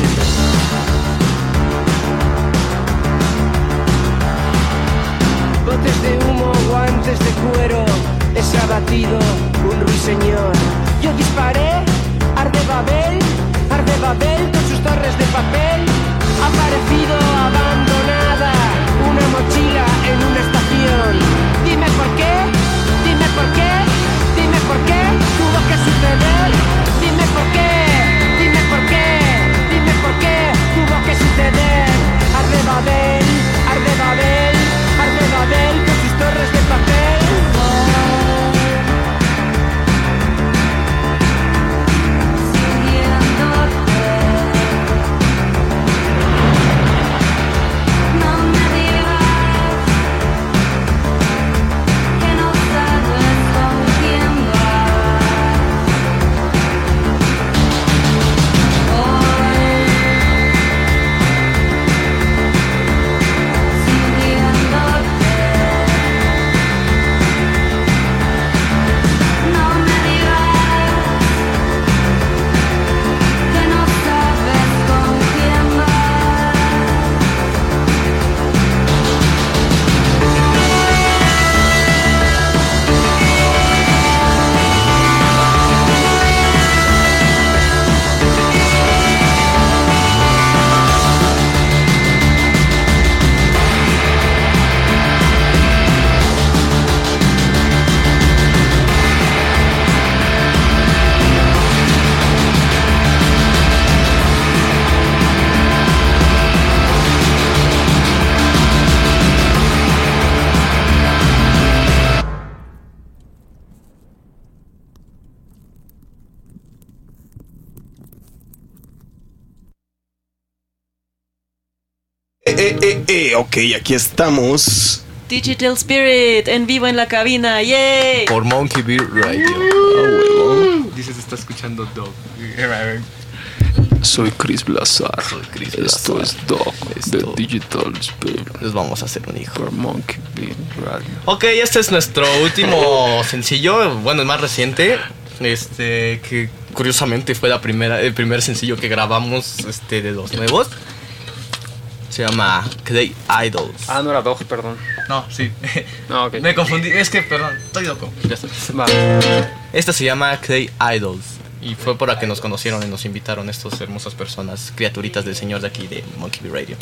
Botes de humo, guantes de cuero. Es abatido un ruiseñor. Yo disparé. Arde Babel con sus torres de papel. Ha parecido abandonada una mochila en una estación. Dime por qué, dime por qué, dime por qué tuvo que suceder. Dime por qué, dime por qué, dime por qué tuvo que suceder. Ok, aquí estamos. Digital Spirit en vivo en la cabina, ¡yay! Por Monkey Beat Radio. Huevo. Dices, está escuchando Dog. Soy Chris Blazar. Esto es Dog de Digital Spirit. Les vamos a hacer un hijo. Por Monkey Beat Radio. Ok, este es nuestro último sencillo, bueno, el más reciente, que curiosamente fue el primer sencillo que grabamos de los nuevos. Se llama Clay Idols. Ah, no era Dog, perdón. No, sí. No, ok. Me confundí, es que, perdón, estoy loco. Ya está. Va. Esta se llama Clay Idols. Y fue por la que nos conocieron y nos invitaron estas hermosas personas, criaturitas del señor de aquí de Monkey Beat Radio.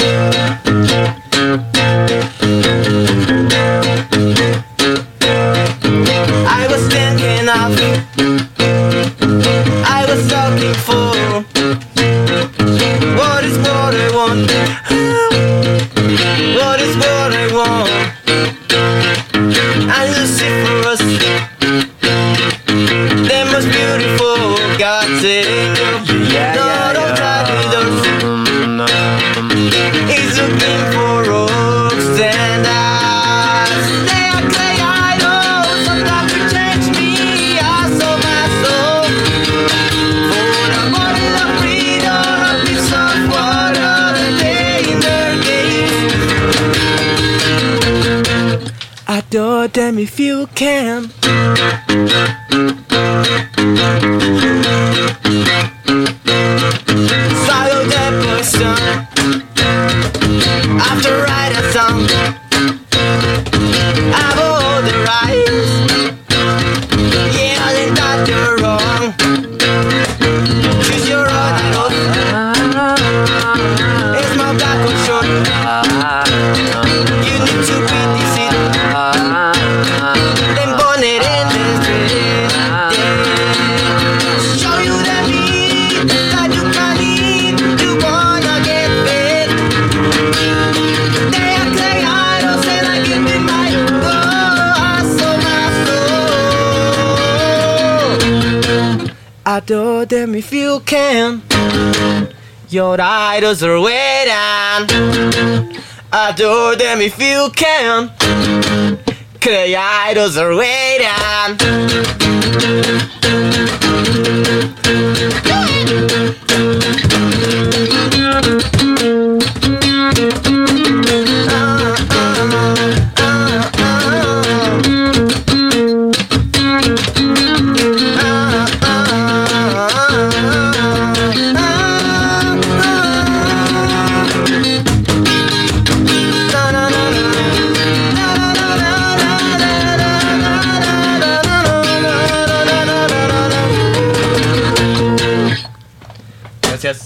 I was thinking of, I was looking for, what is what I want, what is what I want, and Lucifer's, the most beautiful God's angel, he's looking for rocks and eyes. They are clay idols, so that will change me, I saw my soul. For the bottle of freedom, a piece of water, the day in their gaze. Adore them if you can. Follow the person after write a song. Have all the rights, yelling that you're wrong. Choose your own idol. It's my black or short. You need to be deceived. Then burn it in the street. Show you the meat that you can eat. You wanna get fit. They are clay idols and I give me my soul. Adore them if you can. Your idols are waiting. Adore them if you can. Clay idols are waiting. Gracias.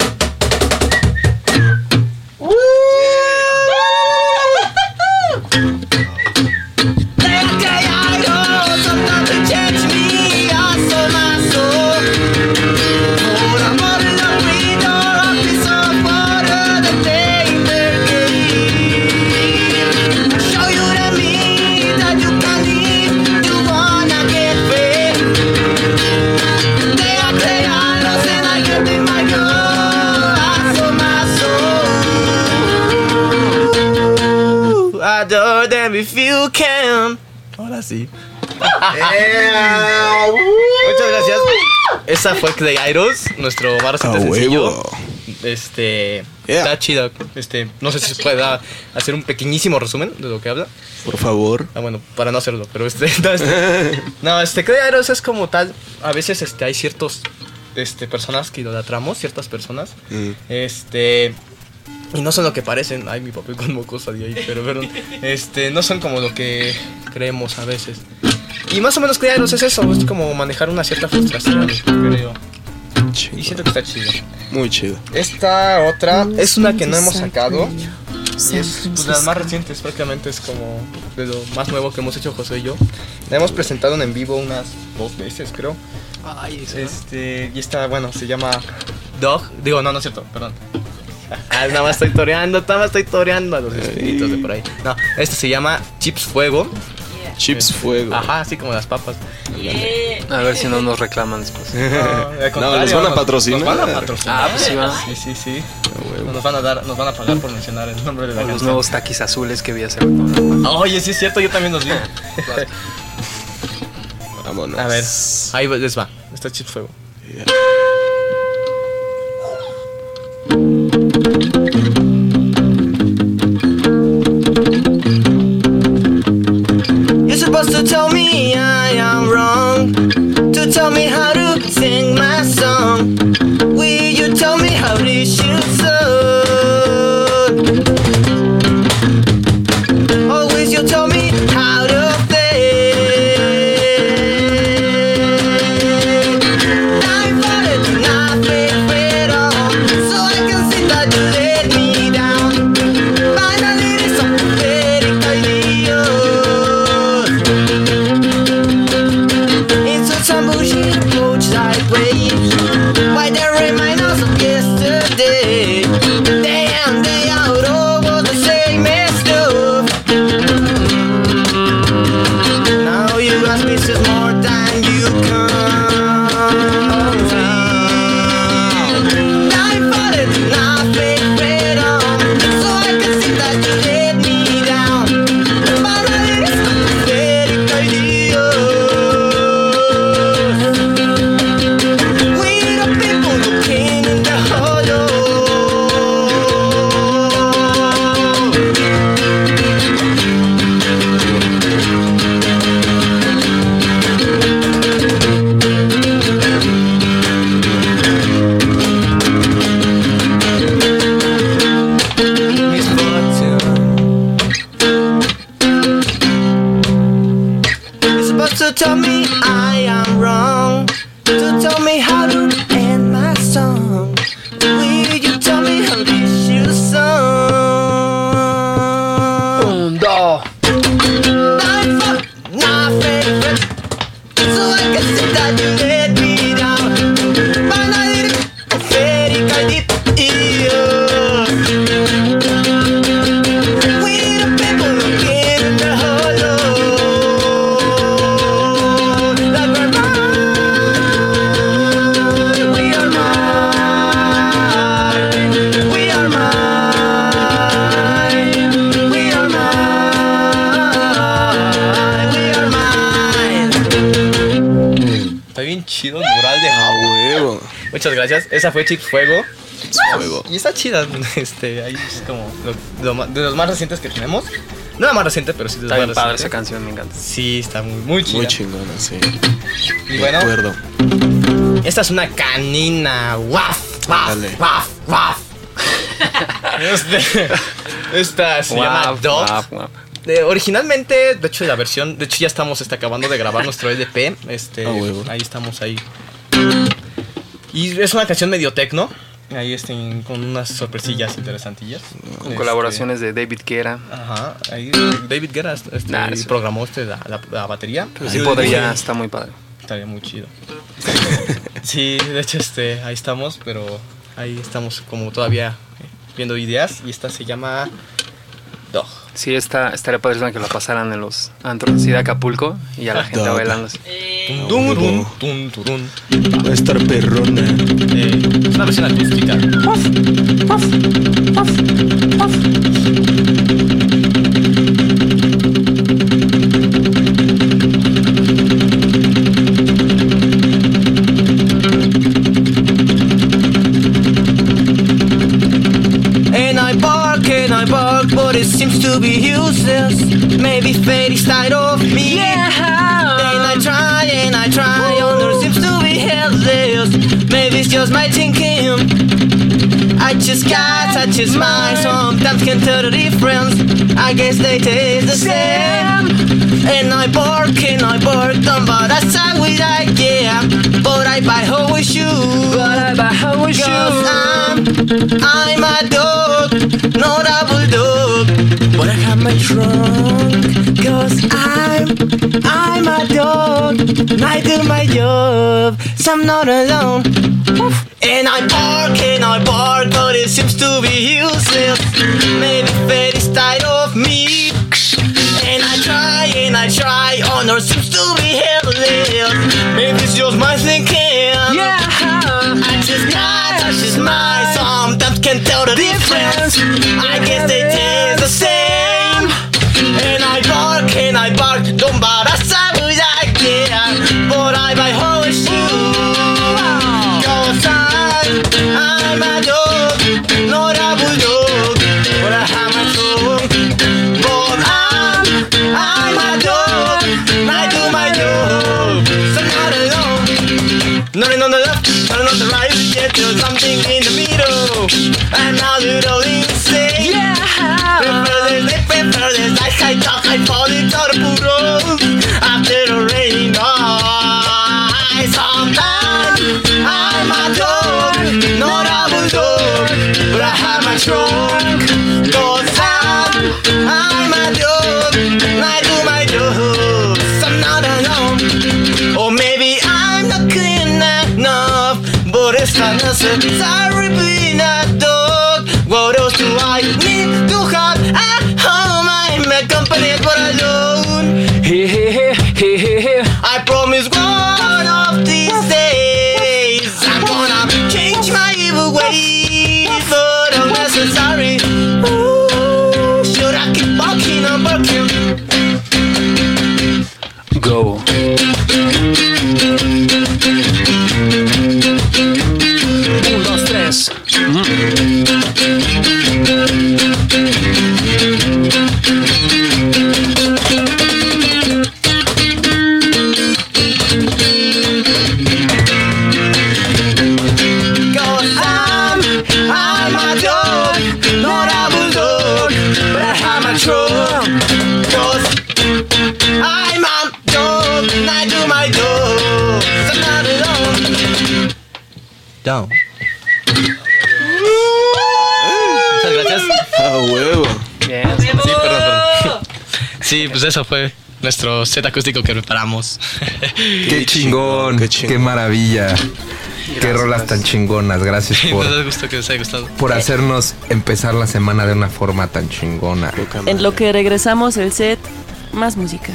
Adore them if you can. Ahora sí. Muchas gracias. Esa fue Clay Idols, nuestro más reciente sencillo. Está chido. No sé si se puede hacer un pequeñísimo resumen de lo que habla. Por favor. Bueno, para no hacerlo, pero Clay Idols es como tal. A veces hay ciertos personas que idolatramos, ciertas personas. Y no son lo que parecen. Ay, mi papel con mocosa de ahí, pero no son como lo que creemos a veces. Y más o menos Clay Idols es eso, es como manejar una cierta frustración, creo. Chido. Y siento que está chido. Muy chido. Esta otra es una que no hemos sacado. Y es de las más recientes, prácticamente es como de lo más nuevo que hemos hecho José y yo. La hemos presentado en vivo unas 2 veces, creo. Ay, y esta, bueno, se llama Dog. Digo, no es cierto, perdón. Nada más estoy toreando a los espíritus de por ahí. No, este se llama Chips Fuego. Chips Fuego. Ajá, así como las papas. A ver si no nos reclaman después. No, nos van a patrocinar. Nos van a patrocinar. Ah, pues sí, va. Sí. Nos van a pagar por mencionar el nombre de la Los canción. nuevos taquis azules que vi hacer. Oye, sí es cierto, yo también los vi. Vámonos. A ver, ahí les va. Está Chips Fuego. You're supposed to tell me I am wrong, to tell me how to sing my song. Will you tell me how this should sound? Always you tell me how to I'm falling, not freedom, so I can see that you let me down. Finally, there's something very ideal. Into some bullshit approach sideways. Why they remind us of yesterday? Day in, day out, over the same stuff. Now you ask me just more than you can. I'm falling, not freedom, so I can see that you let me down. Finally, it's not pathetic idea. We the people looking in the hollow. Miss Fortune, you're supposed to tell me I am wrong, to tell me how to end my song. Will you tell me how this should sound? Un, dos. I'm fucking not favorite, so I can see that you let me down. Finally, the pathetic idea. We the people looking in the hollow. Like we're mine, we are mine, we are mine, we are mine, we are mine. Está bien chido el mural de Huevo. Muchas gracias. Esa fue Chips Fuego. Fuego. Y está chida. Ahí es como de los más recientes que tenemos. No la más reciente, pero sí de los Está más bien padre esa recientes. canción, me encanta. Sí, está muy chida. Muy chingona, sí. Y bueno, De acuerdo. esta es una canina. ¡Waf! ¡Waf! Dale. ¡Waf! ¡Waf! Esta se llama Guap, Dog. guap, guap. Originalmente, de hecho, la versión. De hecho, ya estamos acabando de grabar nuestro LP. huevo. Ahí estamos ahí. Y es una canción medio tecno. Ahí con unas sorpresillas interesantillas. Con colaboraciones de David Guerra. Ajá. Ahí David Guerra Sí. programó la batería. Pero sí podría, está muy padre. Estaría muy chido. Sí, de hecho, ahí estamos, pero ahí estamos como todavía viendo ideas. Y esta se llama Dog. Sí, estaría padre que la pasaran en los antros así de Acapulco y a la gente Dog. bailando así. Tun, tun, turun. Va a estar perrona. Es una versión acústica. And I bark, but it seems to be useless. Maybe fate is tired of me. Yeah. And I try, and it seems to be helpless. Maybe it's just my thinking. I just got such a smile, sometimes can't tell the difference. I guess they taste the same. And I bark, don't but I side with I, yeah. But I buy how shoes. Cause I'm a dog, not a bulldog. But I have my trunk, cause I'm a dog. And I do my job, so I'm not alone. And I bark, but it seems to be useless. Maybe fate is tired of me. And I try, yonder seems to be helpless. Maybe it's just my thinking. Yeah, I just got touches my. Sometimes can't tell the difference. I guess they taste the same. And I bark, don't bark. But I buy horseshoes. Cause I'm a dog, not a bulldog. But I have my tongue. But I'm a dog, I do my job. So not alone. Nothing on the left, nothing on the right. Yet there's something in the middle. And now little insane. Yeah. Prefer this, I talk, I fall into the poodle. After the rain, sometimes I'm a dog, not a bulldog, but I have my trunk. Cause I'm a dog, I do my job. So I'm not alone. Or maybe I'm not clean enough, but it's not necessary being a dog. What else do I need to have at home? I'm accompanied but alone. I promise one of these days I'm gonna change my evil ways, but unnecessary. Ooh, should I keep walking or working? Go. 1, 2, 3. Down. Muchas gracias. ¡Ah, huevo! Bien. Sí, perdón. Sí, pues eso fue nuestro set acústico que preparamos. Qué chingón, qué maravilla. Gracias, qué rolas tan chingonas. Gracias por, nos gusta que les haya gustado. Por hacernos empezar la semana de una forma tan chingona. En lo que regresamos el set, más música.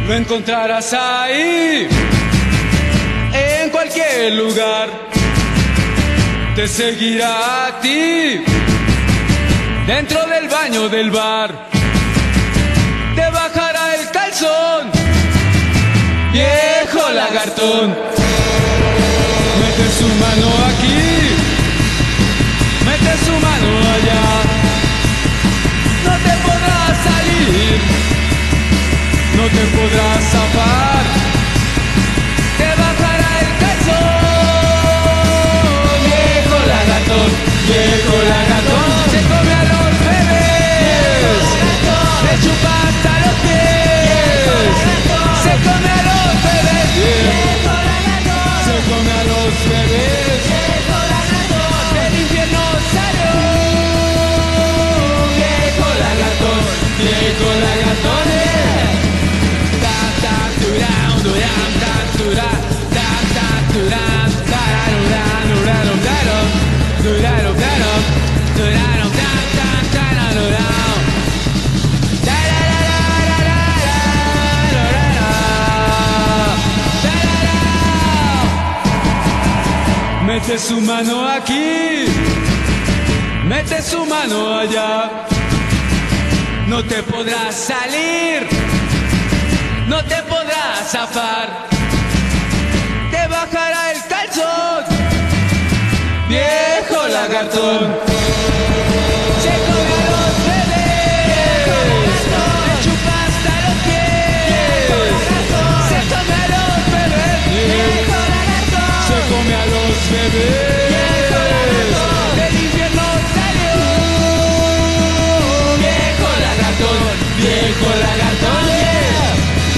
me encontrarás ahí, en cualquier lugar, te seguirá a ti, dentro del baño del bar, te bajará el calzón, viejo lagartón. Mete su mano aquí, mete su mano allá, no te podrás salir, no te podrás zafar, te bajará el calzón, viejo lagartón, viejo lagartón, se come a los bebés, le chupa hasta los pies, se come a los bebés, se come a los bebés, del infierno salió, viejo lagartón, viejo lagartón. Mete su mano aquí, mete su mano allá, no te podrás salir, no te podrás zafar, te bajará el calzón, viejo lagartón, se come a los bebés, le chupa hasta los pies, se come a los bebés, se come a los bebés, del infierno salió, viejo lagartón, viejo lagartón, yeah.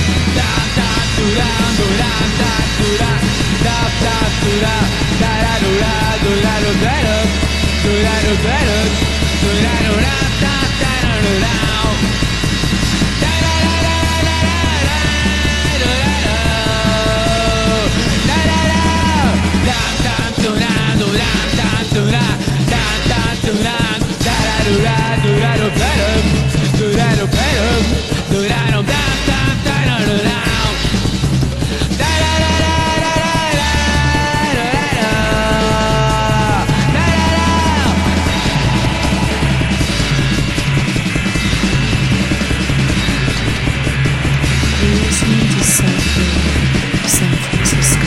Listening to Psych Radio, San Francisco.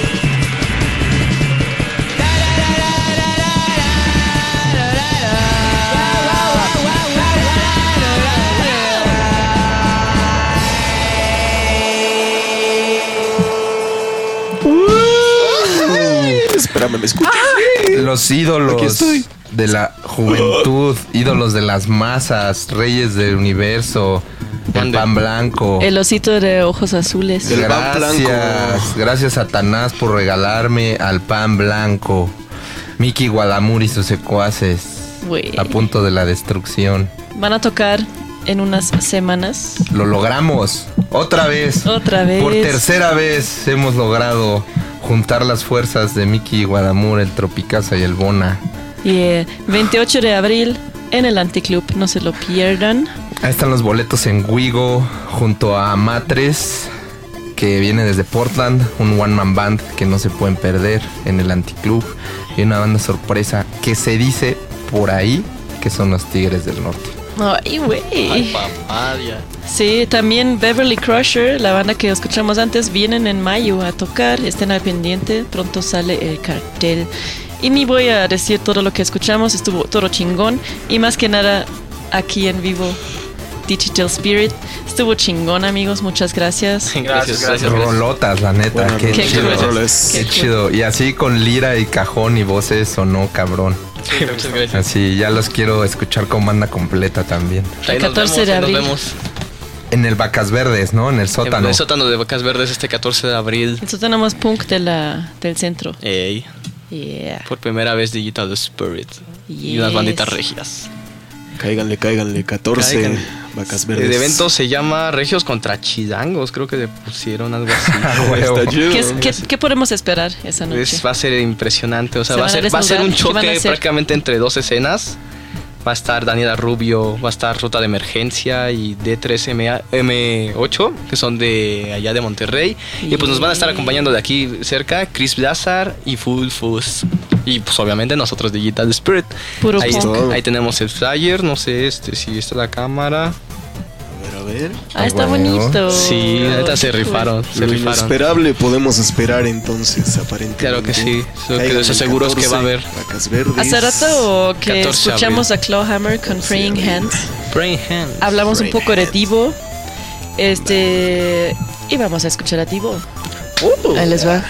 Espérame, ¿me escuchas? Los ídolos de la juventud, ídolos de las masas, reyes del universo, el pan blanco. El osito de ojos azules. Gracias Satanás por regalarme al pan blanco. Mickey Guadamur y sus secuaces. Güey. A punto de la destrucción. Van a tocar en unas semanas. Lo logramos. Otra vez. Otra vez. Por tercera vez hemos logrado juntar las fuerzas de Mickey Guadamur, el Tropicasa y el Bona. 28 de abril en el Anticlub, no se lo pierdan. Ahí están los boletos en Wigo junto a Matres, que viene desde Portland, un one man band que no se pueden perder en el Anticlub, y una banda sorpresa que se dice por ahí que son los Tigres del Norte. Ay, güey. Ay, papadia. Sí, también Beverly Crusher, la banda que escuchamos antes, vienen en mayo a tocar. Estén al pendiente, pronto sale el cartel. Y ni voy a decir todo lo que escuchamos, estuvo todo chingón. Y más que nada, aquí en vivo, Digital Spirit. Estuvo chingón, amigos, muchas gracias. Gracias. Rolotas, la neta, Bueno, qué chido. qué Chido. Y así con lira y cajón y voces sonó cabrón. Sí, muchas gracias. Así, ya los quiero escuchar con banda completa también. El 14 de abril. Nos vemos. En el Vacas Verdes, ¿no? En el sótano. En el sótano de Vacas Verdes este 14 de abril. Nosotros tenemos punk del centro. Ey. Yeah. Por primera vez Digital Spirit. Y unas banditas regias. Cáiganle, 14 Cáiganle. Vacas Verdes. El evento se llama Regios contra Chidangos. Creo que le pusieron algo así. Está chido. ¿Qué podemos esperar esa noche? Va a ser impresionante. O sea, ¿Se va a van a ser un desnudar? ¿Qué van a choque hacer? prácticamente entre dos escenas. Va a estar Daniela Rubio, va a estar Ruta de Emergencia y D3M8, que son de allá de Monterrey. Y pues nos van a estar acompañando de aquí cerca Chris Blazar y Full Fuzz. Y pues obviamente nosotros Digital Spirit. Puro ahí tenemos el flyer, no sé si está la cámara. A ver. Ah, está bonito. Sí, ahorita se rifaron. Lo inesperable podemos esperar entonces, aparentemente. Claro que sí. Lo que les aseguro es que va a haber. Hace rato que escuchamos a Clawhammer con Praying Hands. Hablamos un poco de Divo. Y vamos a escuchar a Divo. Ahí les va.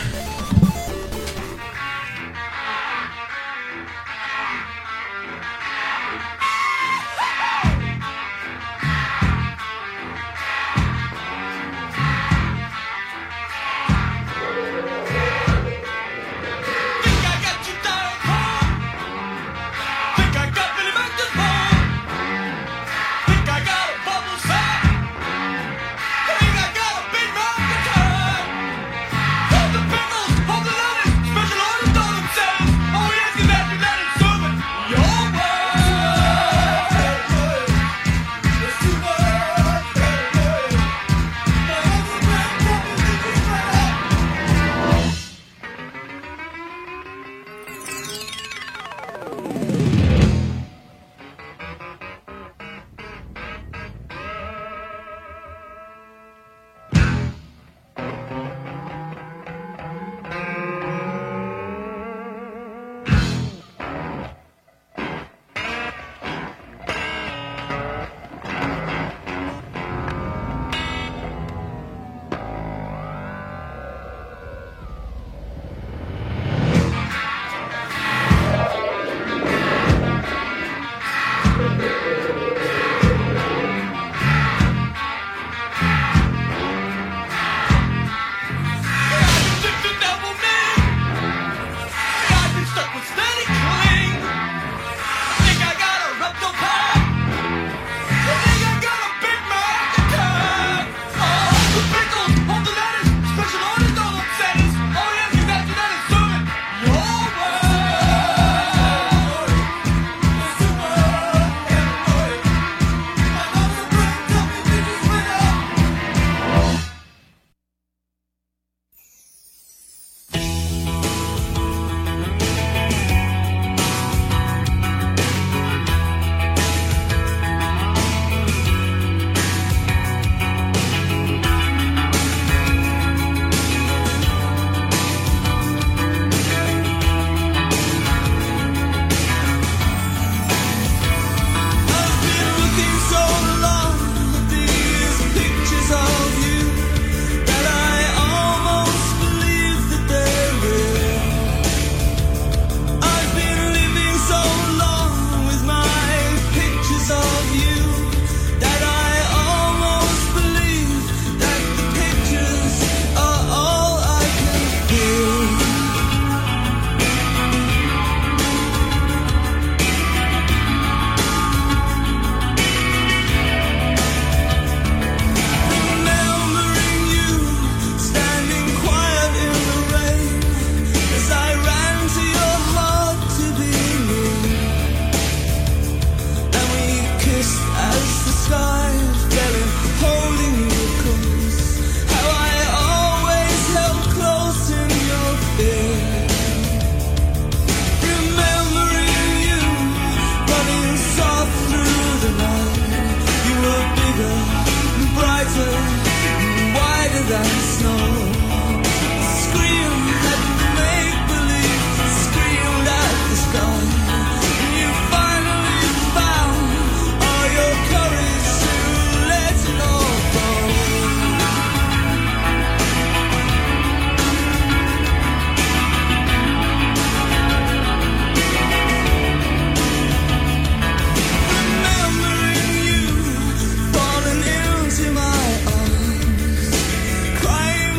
Crying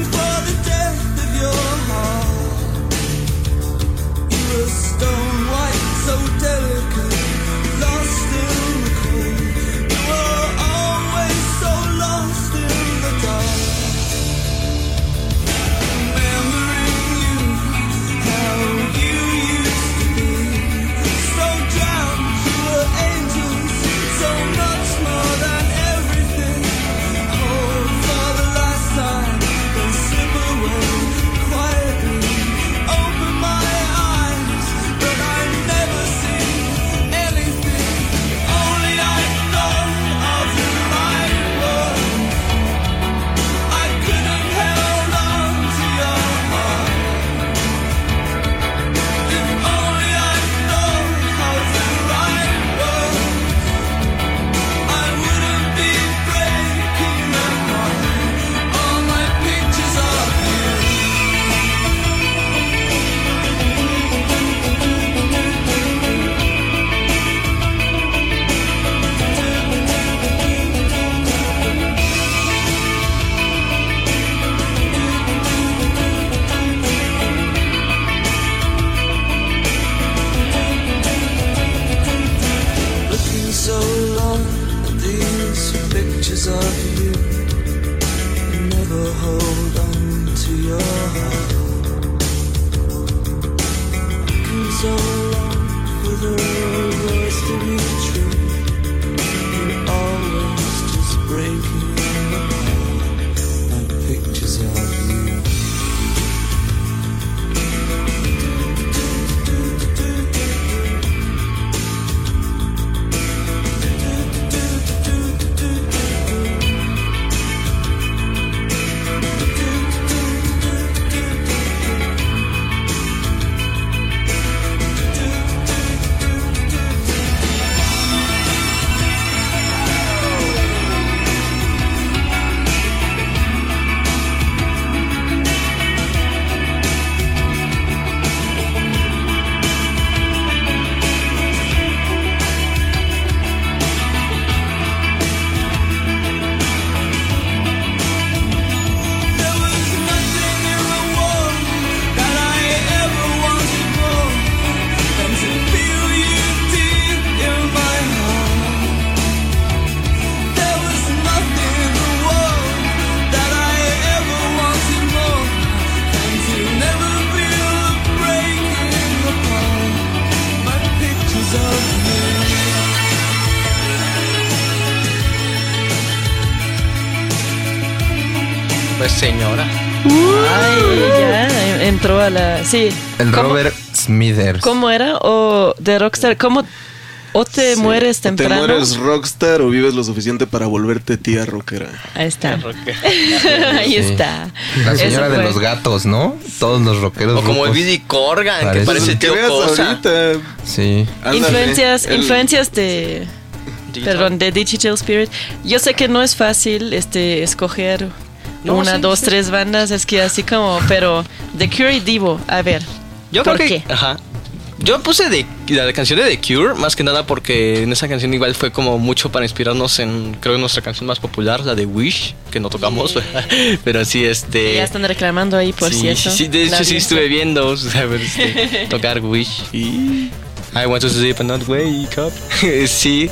never hold on to your heart. Been so long for the words to be true. You're always just breaking apart like pictures of you. Señora. Ay, ya entró a la... Sí. El Robert Smithers. ¿Cómo era? O de Rockstar. ¿Cómo? O te mueres temprano. O te mueres rockstar o vives lo suficiente para volverte tía rockera. Ahí está. Ahí está. La señora de los gatos, ¿no? Todos los rockeros. O como el Billy Corgan, que parece tío Cosa. Sí. Influencias de... Perdón, de Digital Spirit. Yo sé que no es fácil escoger... Una, dos, tres bandas, es que así como, pero The Cure y Devo, a ver, yo ¿por creo qué? Que, ajá. Yo puse la canción de The Cure, más que nada porque en esa canción igual fue como mucho para inspirarnos en, creo, nuestra canción más popular, la de Wish, que no tocamos, pero sí, Ya están reclamando ahí, por cierto. Sí, de hecho sí estuve viendo, tocar Wish. I want to sleep and not wake up. Sí,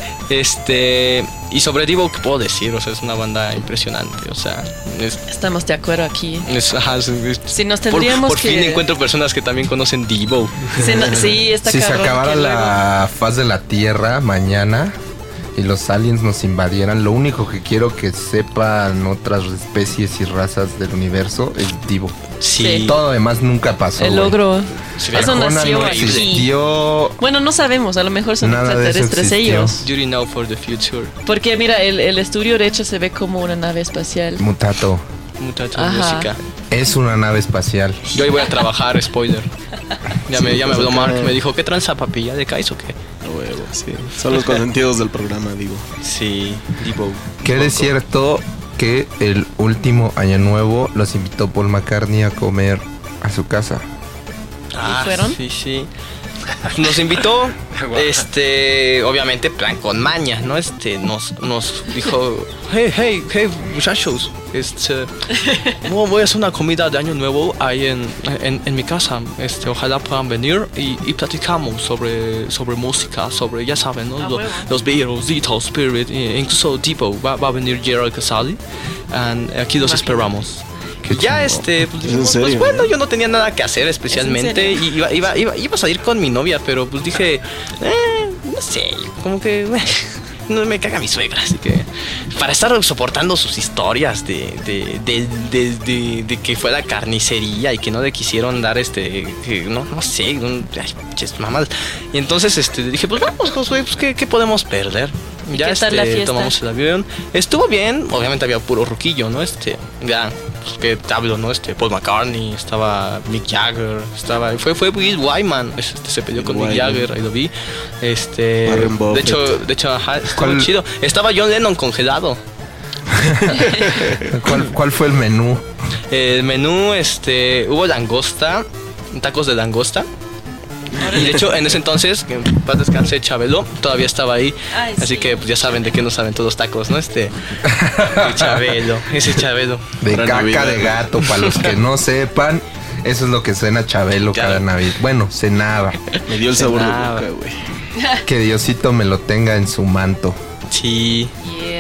y sobre Devo, ¿qué puedo decir? O sea, es una banda impresionante, o sea... Estamos de acuerdo aquí. Si nos por tendríamos fin encuentro personas que también conocen Devo. Sí, está Si se acabara la faz de la Tierra mañana y los aliens nos invadieran, lo único que quiero que sepan otras especies y razas del universo es Devo. Sí. Todo lo demás nunca pasó. El logro. Eso nació no existió. Bueno, no sabemos, a lo mejor son extraterrestres ellos. You know for the future. Porque mira, el estudio de hecho se ve como una nave espacial. Mutato música. Es una nave espacial. Yo ahí voy a trabajar, spoiler. Ya me habló Mark, me dijo, ¿qué tranza, papi? ¿Ya decaes o qué? Huevo, sí. Son los consentidos del programa, digo. Sí, Devo. ¿Qué es cierto que el último año nuevo los invitó Paul McCartney a comer a su casa? ¿Y fueron? Sí. Nos invitó, obviamente plan con maña, ¿no? Nos dijo, hey, muchachos, voy a hacer una comida de año nuevo ahí en mi casa. Ojalá puedan venir y platicamos sobre música, sobre, ya saben, ¿no? Los Beatles, Digital Spirit, incluso Devo, va a venir Gerald Casale, y aquí los esperamos. Ya pues dijimos, pues bueno, yo no tenía nada que hacer especialmente y iba a salir con mi novia, pero pues dije, no sé, como que no me caga mi suegra, así que para estar soportando sus historias de que fue la carnicería y que no le quisieron dar no sé, mamadas. Y entonces dije, pues vamos, Josué, pues qué podemos perder. Ya ¿Qué tal la fiesta? Tomamos el avión. Estuvo bien, obviamente había puro roquillo, ¿no? Ya, pues que te hablo, ¿no? Paul McCartney, estaba Mick Jagger, fue Bill Wyman, se peleó con Mick Jagger, ahí lo vi. De hecho, ajá, estuvo chido. Estaba John Lennon congelado. ¿Cuál fue el menú? El menú, hubo langosta, tacos de langosta. Y de hecho, en ese entonces, que en paz descanse, Chabelo todavía estaba ahí. Ay, así que pues, ya saben de qué nos saben todos los tacos, ¿no? Ese Chabelo. De caca Navidad. De gato, para los que no sepan, eso es lo que cena Chabelo cada Navidad. Bueno, cenaba. Me dio el sabor de boca, güey. Que Diosito me lo tenga en su manto. Sí. Yeah.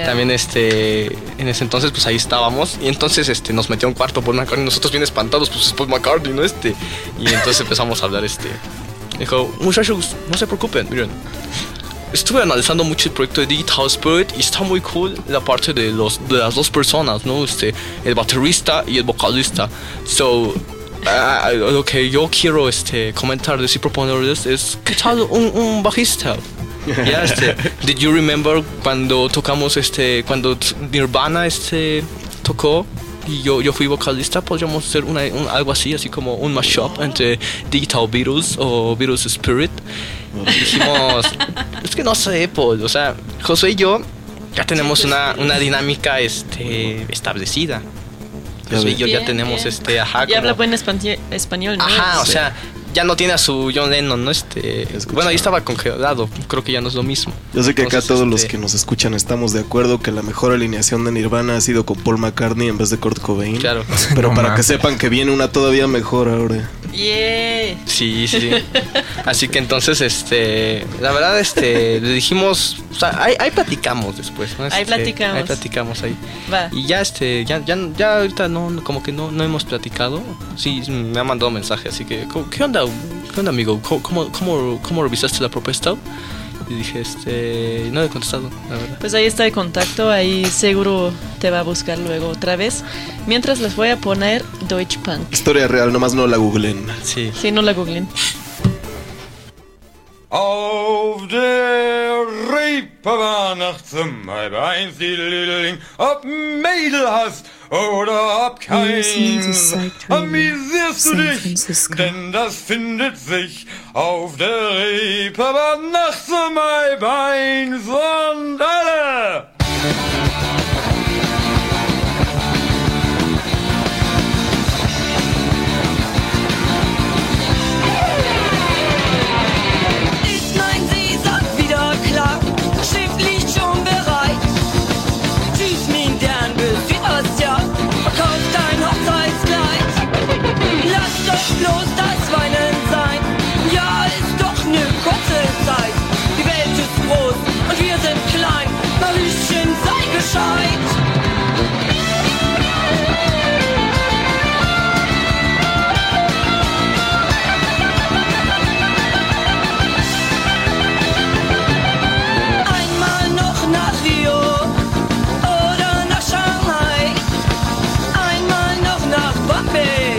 También en ese entonces pues ahí estábamos y entonces nos metió a un cuarto Paul McCartney, nosotros bien espantados, pues es Paul McCartney, ¿no? Y entonces empezamos a hablar, dijo, muchachos, no se preocupen, miren, estuve analizando mucho el proyecto de Digital Spirit y está muy cool la parte de las dos personas, ¿no? El baterista y el vocalista. So, lo que yo quiero comentarles y proponerles es, ¿qué tal un bajista? Ya, did you remember cuando tocamos cuando Nirvana tocó y yo fui vocalista? Podríamos hacer algo así como un mashup entre Digital Beatles o Beatles Spirit. Y dijimos, es que no sé, pues, o sea, José y yo ya tenemos una dinámica establecida. José y yo ya tenemos y habla buen español, ¿no? Ajá, o sea, ya no tiene a su John Lennon, ¿no? Bueno, ahí estaba congelado, creo que ya no es lo mismo. Yo sé que entonces, acá todos los que nos escuchan estamos de acuerdo que la mejor alineación de Nirvana ha sido con Paul McCartney en vez de Kurt Cobain. Claro. Pero no, para que sepan que viene una todavía mejor ahora. Yeah. Sí. Así que entonces, la verdad, le dijimos, o sea, ahí platicamos después, ¿no? Ahí platicamos ahí. Va. Y ya, ya ahorita como que no hemos platicado. Sí, me ha mandado mensaje, así que, ¿qué onda, amigo? ¿Cómo revisaste la propuesta? Y dije, no he contestado, la verdad. Pues ahí está el contacto, ahí seguro te va a buscar luego otra vez. Mientras les voy a poner Deutsche Punk. Historia real, nomás no la googlen. Sí, no la googlen. Auf der Reeperbahn nachts um 1:30 die Liedling, ob Mädel hast oder ob kein. Amüsierst du dich, denn das findet sich auf der Reeperbahn nachts um 1:30 und alle. Bloß das Weinen sein, ja, ist doch ne kurze Zeit. Die Welt ist groß und wir sind klein, Mariechen, sei gescheit. Einmal noch nach Rio oder nach Shanghai, einmal noch nach Bombay.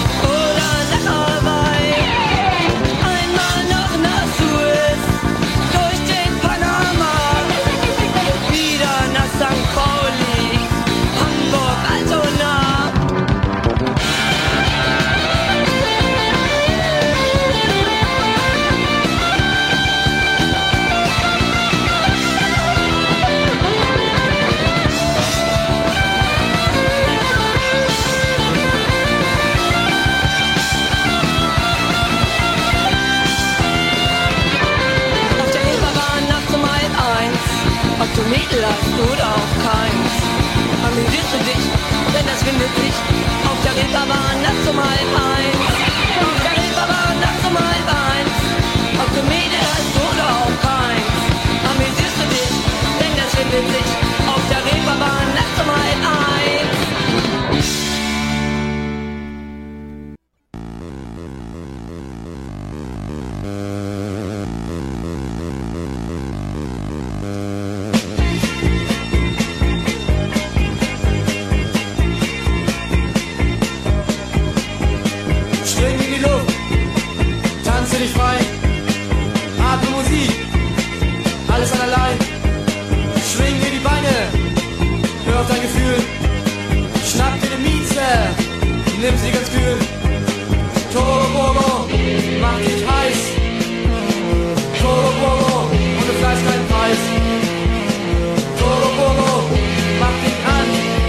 Mädel hast oder auch keins. Amüsierst du dich, denn das findet sich auf der Reeperbahn nachts um 1:30. Auf der Reeperbahn nachts um 1:30. Ob du Mädel hast oder auch keins. Amüsierst du dich, denn das findet sich auf der Reeperbahn nachts um 1:30. Nimm sie ganz kühl. Turbo, mach dich heiß. Turbo, und du fleißt keinen Preis. Turbo, mach dich an.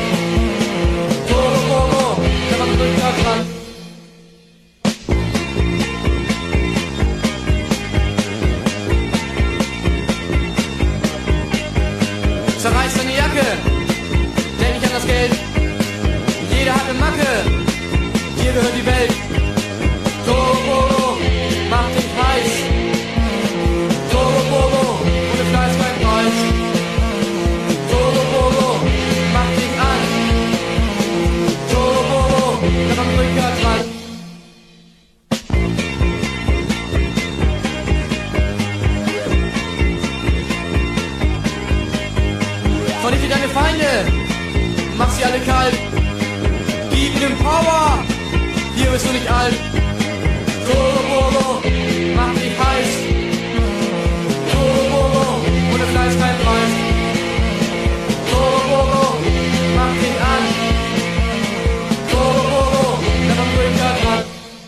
Turbo, der macht den Rückgrat dran. Zerreiß deine Jacke, denk nicht an das Geld. Jeder hat eine Macke. dich alt. Turbo, mach dich heiß. Turbo, ohne Fleisch kein Preis. Turbo, mach dich an. Turbo, never bring that up.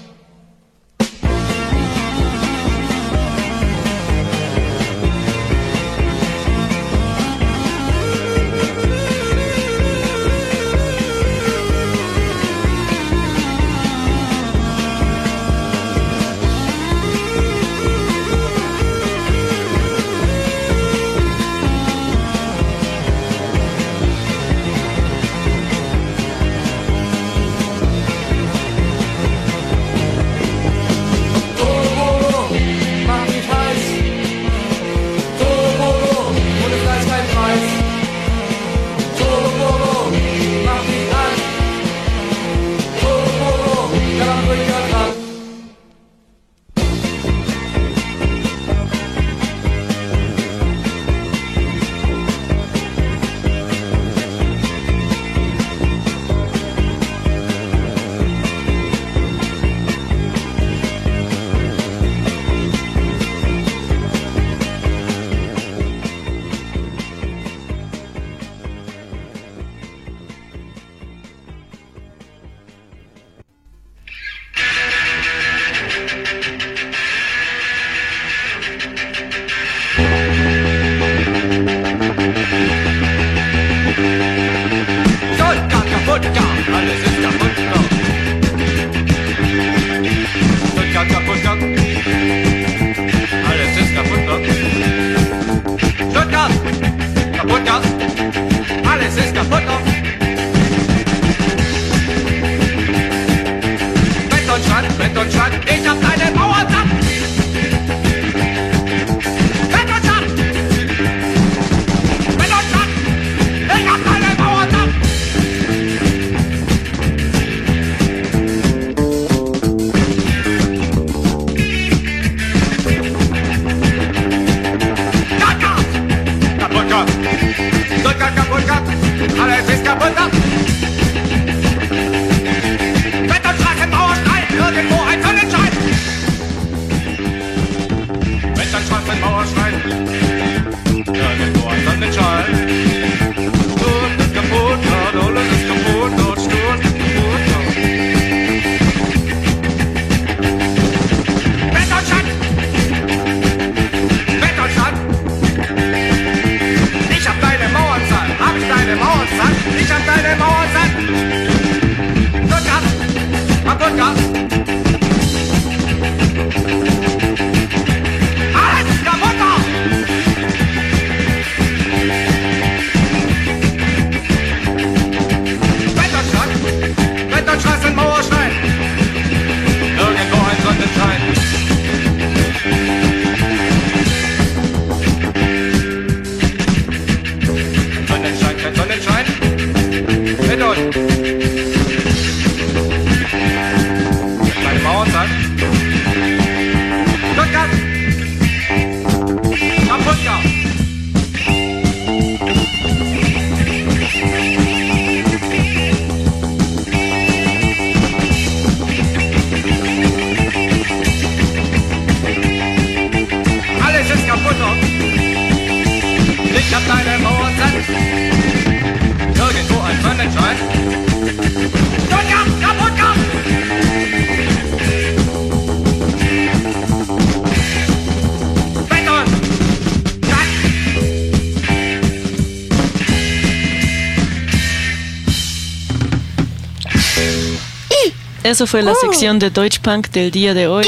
Eso fue la sección de Deutsch Punk del día de hoy.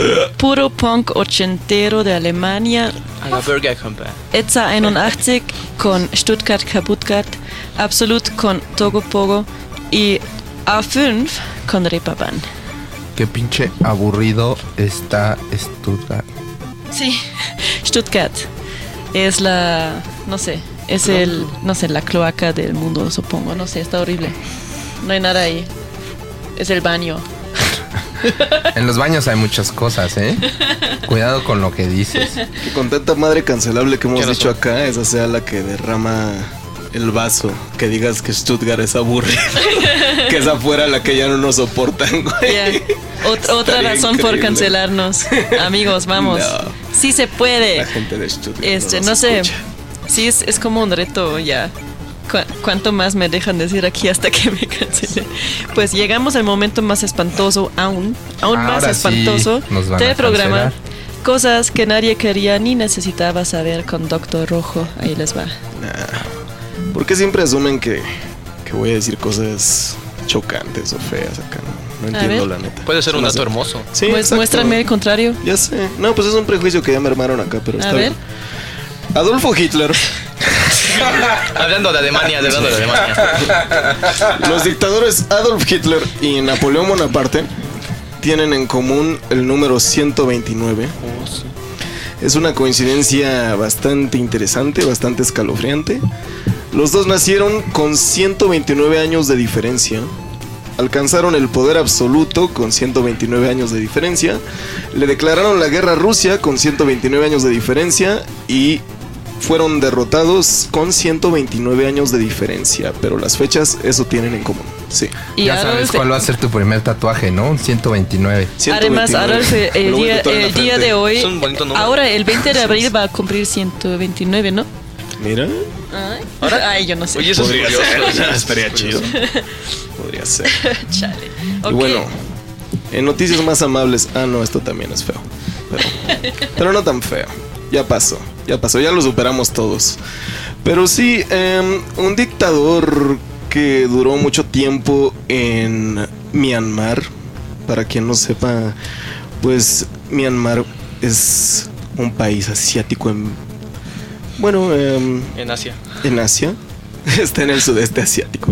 Puro punk ochentero de Alemania. A la Burger Company. Etza 81 con Stuttgart Kaputtgart. Absolut con Togo Pogo. Y A5 con Reeperbahn. Qué pinche aburrido está Stuttgart. Sí, Stuttgart es la, no sé, es el, no sé, la cloaca del mundo, supongo, no sé, está horrible. No hay nada ahí. Es el baño. En los baños hay muchas cosas, ¿eh? Cuidado con lo que dices. Que con tanta madre cancelable que hemos dicho acá, esa sea la que derrama el vaso, que digas que Stuttgart es aburrido, que es afuera la que ya no nos soportan, güey. Yeah. Otra Estaría razón por increíble. cancelarnos. Amigos, vamos. No. Sí se puede. La gente de Stuttgart No nos sé. escucha. Sí, es como un reto ya. ¿Cuánto más me dejan decir aquí hasta que me cancelen? Pues llegamos al momento más espantoso, aún más Ahora espantoso sí nos van del a programa. cancelar. Cosas que nadie quería ni necesitaba saber con Doctor Rojo. Ahí les va. ¿Por qué siempre asumen que voy a decir cosas chocantes o feas acá? No A entiendo, ver. la neta. Puede ser un Se me dato hace- hermoso. Sí, Pues exacto. muéstrame el contrario. Ya sé. No, pues es un prejuicio que ya me armaron acá, pero A está ver. bien. Adolfo Hitler. Hablando de Alemania. Los dictadores Adolf Hitler y Napoleón Bonaparte tienen en común el número 129. Es una coincidencia bastante interesante, bastante escalofriante. Los dos nacieron con 129 años de diferencia. Alcanzaron el poder absoluto con 129 años de diferencia. Le declararon la guerra a Rusia con 129 años de diferencia y fueron derrotados con 129 años de diferencia. Pero las fechas, eso tienen en común. Sí. Y Ya sabes Adolf- cuál va a ser tu primer tatuaje, ¿no? Un 129. Además, Adolf, el Lo voy a día, tatuar en la el día frente. de hoy, Es un bonito número. ahora el 20 de abril va a cumplir 129, ¿no? Mira. Ay, yo no sé. Oye, eso es Podría curioso. ser, o sea, estaría chido. Podría ser. Chale. Y Ok. bueno, en noticias más amables. Ah, no, esto también es feo. Pero no tan feo. Ya pasó, ya lo superamos todos. Pero sí, un dictador que duró mucho tiempo en Myanmar. Para quien no sepa, pues Myanmar es un país asiático En Asia. en Asia. Está en el sudeste asiático.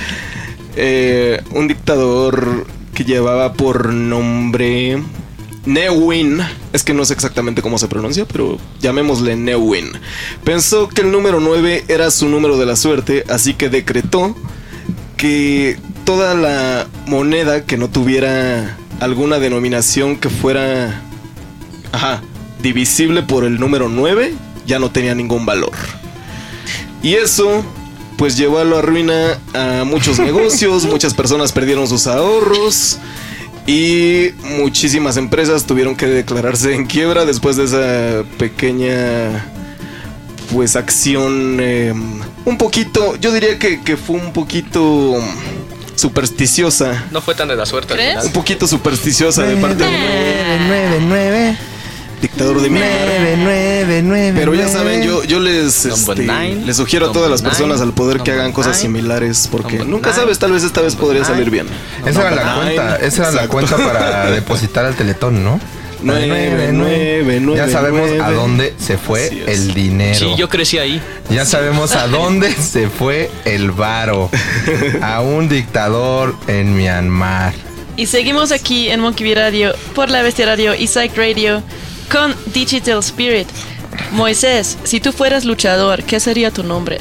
Un dictador que llevaba por nombre Ne Win. Es que no sé exactamente cómo se pronuncia, pero llamémosle Ne Win. Pensó que el número 9 era su número de la suerte, así que decretó que toda la moneda que no tuviera alguna denominación que fuera divisible por el número 9 ya no tenía ningún valor. Y eso pues llevó a la ruina a muchos negocios, muchas personas perdieron sus ahorros y muchísimas empresas tuvieron que declararse en quiebra después de esa pequeña pues acción un poquito, yo diría que fue un poquito supersticiosa. No fue tan de la suerte al ¿Crees? final. Un poquito supersticiosa de parte del 999. dictador de Myanmar. 999. Pero ya saben, yo les, Number nine, les sugiero a todas las number personas nine, al poder que hagan number cosas nine, similares porque number nunca nine, sabes, tal vez esta vez podría number salir nine. bien. Esa era la Number cuenta, nine. esa era la Exacto. cuenta para depositar al Teletón, ¿no? 999. Ya sabemos a dónde se fue Así es. el dinero. Sí, yo crecí ahí. Ya sabemos a dónde se fue el varo. A un dictador en Myanmar. Y seguimos aquí en Monkey Bee Radio por la Bestia Radio y Psych Radio con Digital Spirit. Moisés, si tú fueras luchador, ¿qué sería tu nombre?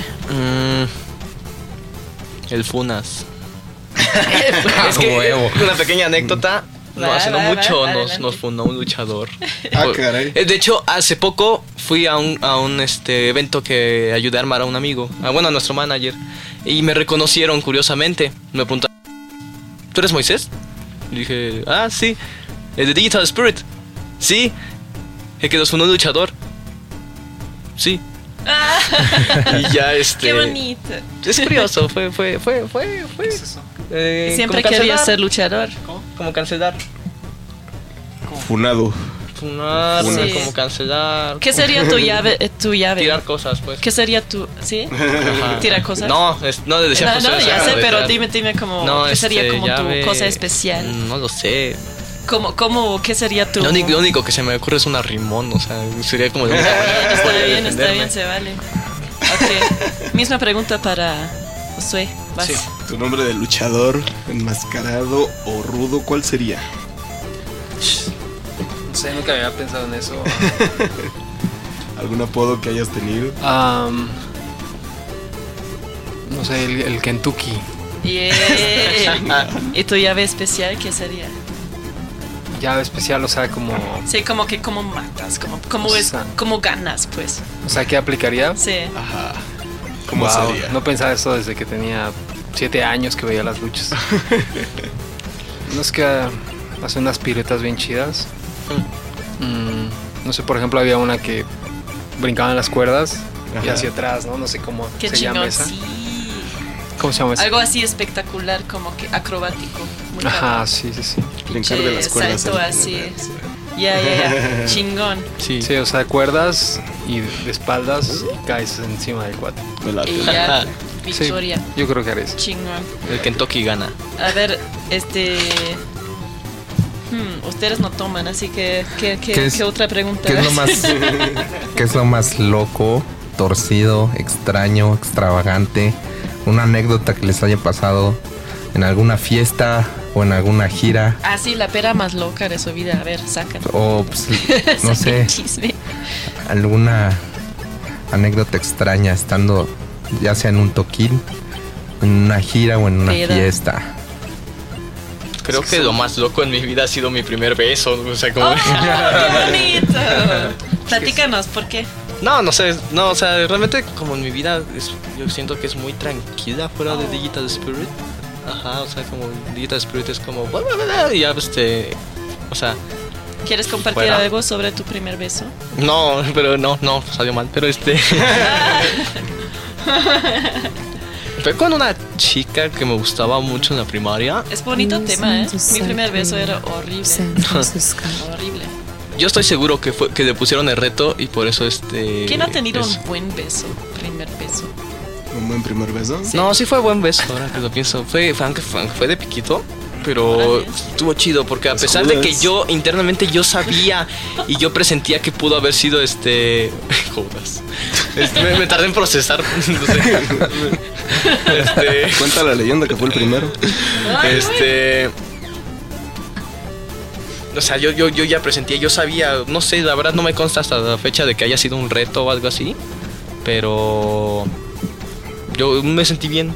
El Funas. A Es que huevo. una pequeña anécdota. No, Va, hace no va, mucho va, nos adelante. fundó un luchador. Ah, caray. De hecho, hace poco fui a un evento que ayudé a armar a un amigo, a nuestro manager, y me reconocieron curiosamente. Me preguntaron, ¿tú eres Moisés? Y dije, sí, el de Digital Spirit. Sí, el que nos fundó un luchador. Sí. Y ya Qué bonito. Es curioso, fue. Siempre como quería cancelar. ser luchador. Como cancelar. Funado. Funar, Sí. como cancelar. ¿Qué sería tu llave? Tirar cosas, pues. ¿Qué sería tu... ¿Sí? Ajá. ¿Tirar cosas? No, no le decía No, cosas. ya sé, pero tirar. dime como... No, ¿qué sería como llave, tu cosa especial? No lo sé. ¿Qué sería tu...? Lo único que se me ocurre es un arrimón, o sea, sería como... Está bien, se vale. Ok. Misma pregunta para Josué. Vas. Sí. Tu nombre de luchador, enmascarado o rudo, ¿cuál sería? No sé, nunca había pensado en eso. ¿Algún apodo que hayas tenido? No sé, el Kentucky. Yeah. ¿Y tu llave especial qué sería? Llave especial, o sea, como... Sí, como que cómo matas, como O sea, cómo ganas, pues. O sea, ¿qué aplicaría? Sí. Ajá. ¿Cómo Wow, sería? no pensaba eso desde que tenía 7 años que veía las luchas. No es que hace unas piruetas bien chidas. No sé, por ejemplo, había una que brincaba en las cuerdas y hacia atrás, ¿no? No sé cómo Qué se llama chingón, esa. sí. ¿Cómo se llama esa? Algo así espectacular, como que acrobático. Muy Ajá, cabrón. sí. Brincar de las cuerdas. Salto así. Ya. Chingón. Sí, o sea, cuerdas y de espaldas y caes encima del cuate. Y ya, victoria. Sí, yo creo que haré eso. Chingón. El Kentucky gana. A ver, ustedes no toman, así que ¿qué otra pregunta? ¿Qué es lo más loco, torcido, extraño, extravagante? Una anécdota que les haya pasado en alguna fiesta o en alguna gira. Ah, sí, la pera más loca de su vida. A ver, sacan. O, pues, no sé, Chisme. alguna anécdota extraña estando ya sea en un toquín, en una gira o en una Peda. fiesta. Creo que lo más loco en mi vida ha sido mi primer beso. O sea, como... ¡Oh, qué bonito! Platícanos, ¿por qué? No sé, no, o sea, realmente como en mi vida yo siento que es muy tranquila fuera de Digital Spirit. Ajá, o sea, como Digital Spirit es como... Y ya, o sea... ¿Quieres compartir Fuera. algo sobre tu primer beso? No, pero no, salió mal, pero Fue con una chica que me gustaba mucho en la primaria. Es bonito tema, ¿eh? Mi primer beso era horrible. Horrible. Yo estoy seguro que le pusieron el reto y por eso ¿Quién ha tenido un buen beso? Primer beso. ¿Un buen primer beso? Sí. No, sí fue buen beso, ahora que lo pienso. Fue de piquito, pero estuvo chido porque a pesar de que yo internamente yo sabía y yo presentía que pudo haber sido Judas. Me tardé en procesar. No sé. Cuenta la leyenda que fue el primero. O sea, yo ya presentía, yo sabía, no sé, la verdad no me consta hasta la fecha de que haya sido un reto o algo así, pero yo me sentí bien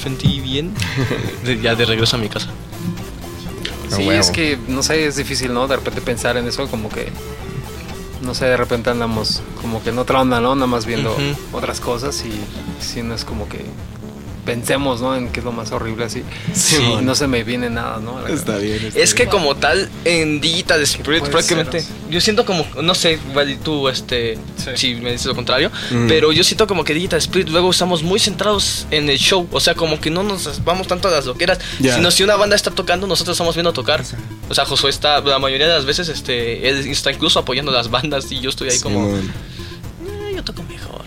ya de regreso a mi casa. Sí, es que, no sé, es difícil, ¿no? De repente pensar en eso, como que, no sé, de repente andamos como que en otra onda, ¿no? Nada más viendo otras cosas y si no es como que pensemos, ¿no? En qué es lo más horrible así. Sí, Y man. no se me viene nada, ¿no? Está bien. Es que como tal, en Digital Spirit Puede prácticamente, ser, yo siento como, no sé, igual tú, si me dices lo contrario, pero yo siento como que Digital Spirit luego estamos muy centrados en el show, o sea, como que no nos vamos tanto a las loqueras, sino si una banda está tocando, nosotros estamos viendo tocar. O sea, Josué está, la mayoría de las veces, él está incluso apoyando las bandas y yo estoy ahí como, yo toco mejor.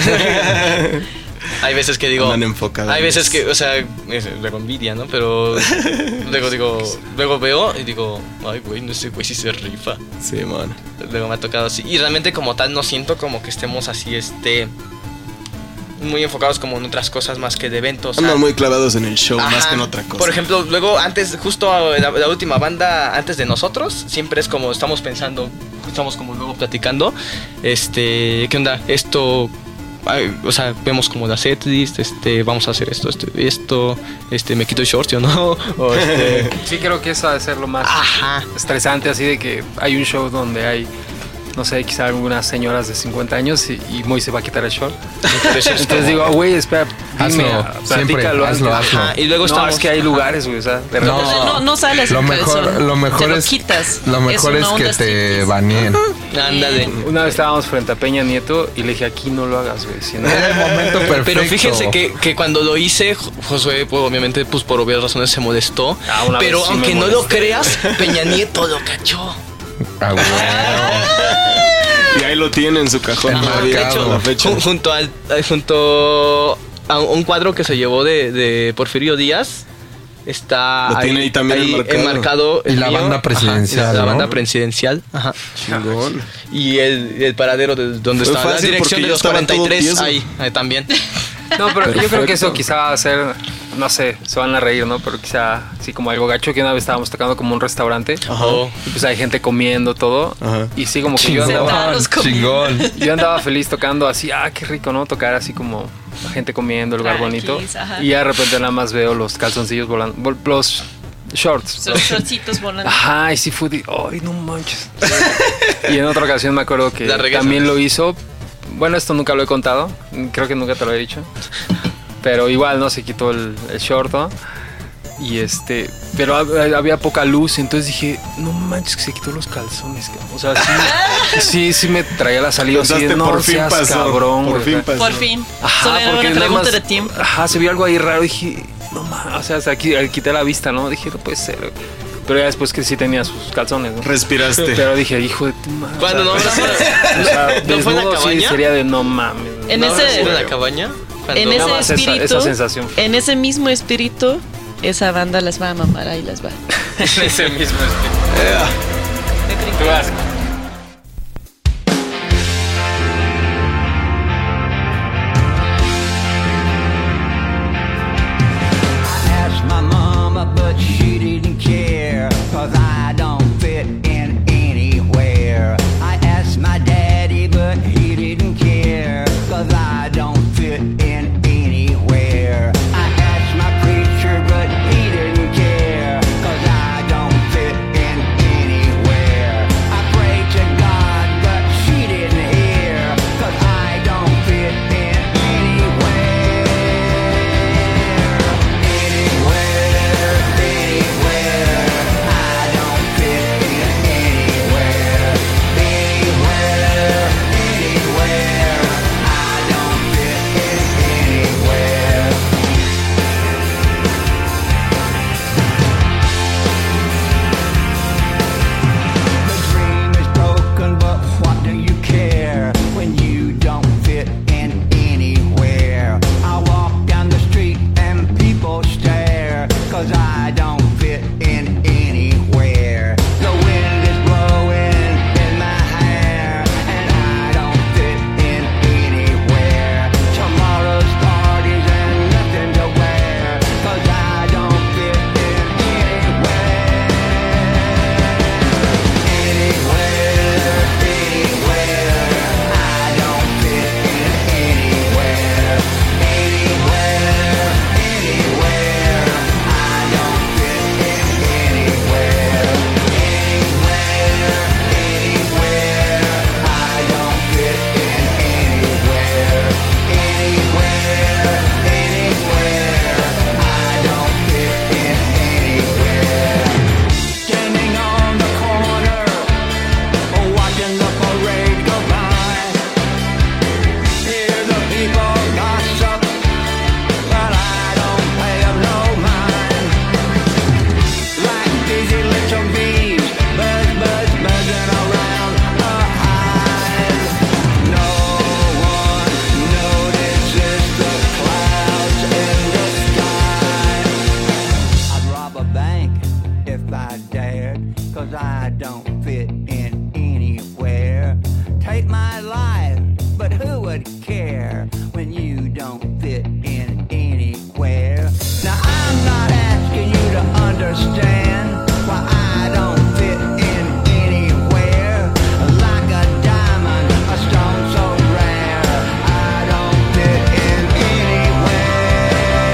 Hay veces que digo, hay veces que, o sea, luego envidia, ¿no? Pero luego veo y digo, ay, güey, no sé, güey, si se rifa. Sí, man. Luego me ha tocado así. Y realmente como tal no siento como que estemos así, muy enfocados como en otras cosas más que de eventos. Andan muy clavados en el show más que en otra cosa. Por ejemplo, luego antes, justo la última banda antes de nosotros, siempre es como estamos pensando, estamos como luego platicando, ¿qué onda? Esto... O sea, vemos como la setlist, vamos a hacer esto, me quito el short, ¿o no? O Sí, creo que eso ha de ser lo más estresante, así de que hay un show donde hay, no sé, quizá algunas señoras de 50 años y Moy se va a quitar el short. Entonces digo, güey, espera, dime, platícalo. Hazlo. Y luego no, es que hay lugares, güey, o sea, de repente. No sales Lo en mejor, calzón. lo mejor Te lo es quitas. Lo mejor es una que onda te striptease. baneen. Ándale. Una vez estábamos frente a Peña Nieto y le dije, aquí no lo hagas, güey. Si no... Era el momento perfecto. Pero fíjense que cuando lo hice, Josué, pues, obviamente, pues por obvias razones se molestó. Pero sí aunque me no lo molesté. creas, Peña Nieto lo cachó. Ah, bueno. Y ahí lo tiene en su cajón. Ajá, todavía, de hecho, hasta la fecha. junto a un cuadro que se llevó de Porfirio Díaz. Está Lo tiene ahí también enmarcado. el Y la mío. banda presidencial, Ajá, la ¿no? banda presidencial. Ajá. Chingón. Y el paradero de donde Fue está la fácil dirección porque de yo los estaba todo 43 tieso. ahí también. No, pero yo creo que Perfecto. eso quizá va a ser, no sé, se van a reír, ¿no? Pero quizá así como algo gacho, que una vez estábamos tocando como un restaurante. Y pues hay gente comiendo todo. Y sí, como que yo andaba, yo andaba feliz tocando así, qué rico, ¿no? Tocar así como la gente comiendo, el lugar bonito. Ajá. Y de repente nada más veo los calzoncillos volando, los shorts. Son shortcitos volando. Ajá, y sí fue de, ay, no manches. Y en otra ocasión me acuerdo que La regresa. también lo hizo, bueno, esto nunca lo he contado, creo que nunca te lo he dicho, pero igual, ¿no? Se quitó el short, ¿no? Y pero había poca luz, entonces dije, no manches que se quitó los calzones, cabrón. O sea, sí me traía la salida así de, no por fin seas pasó, cabrón, por fin pasó. Por fin. Ajá, Solo era porque una nada pregunta más, de tiempo. ajá, se vio algo ahí raro, dije, no mames, o sea, aquí quité la vista, ¿no? Dije, no puede ser. Pero ya después que sí tenía sus calzones, ¿no? Respiraste. Pero dije, hijo de tu madre. Cuando no, ¿no fue en la cabaña? Sí, sería de no mames. En ¿No ese, en la cabaña? en Nada ese más espíritu, esa sensación. en ese mismo espíritu, esa banda las va a mamar, ahí las va. En ese mismo espíritu. Tú vas. Asked my mama, but she didn't care, 'cause I don't fit in anywhere. I asked my daddy, but he didn't care, 'cause I don't fit in anywhere. I asked my preacher, but he didn't care, 'cause I don't fit in anywhere. I prayed to God, but she didn't hear, 'cause I don't fit in anywhere. The dream is broken, but what do you care when you don't fit in anywhere? I walk down the street and people stare, 'cause I don't fit in anywhere. The wind is blowing in my hair, and I don't fit in anywhere. Tomorrow's parties and nothing to wear, 'cause I don't fit in anywhere. Standing on the corner, watching the parade go by. Hear the people gossip, but I don't pay 'em no mind. Like busy little bees, buzzing around a hive. No one notices the clouds in the sky. I'd rob a bank if I dared, 'cause I don't fit in anywhere. Take my life, but who would care when you don't fit in anywhere? Now I'm not asking you to understand why I don't fit in anywhere. Like a diamond, a stone so rare, I don't fit in anywhere.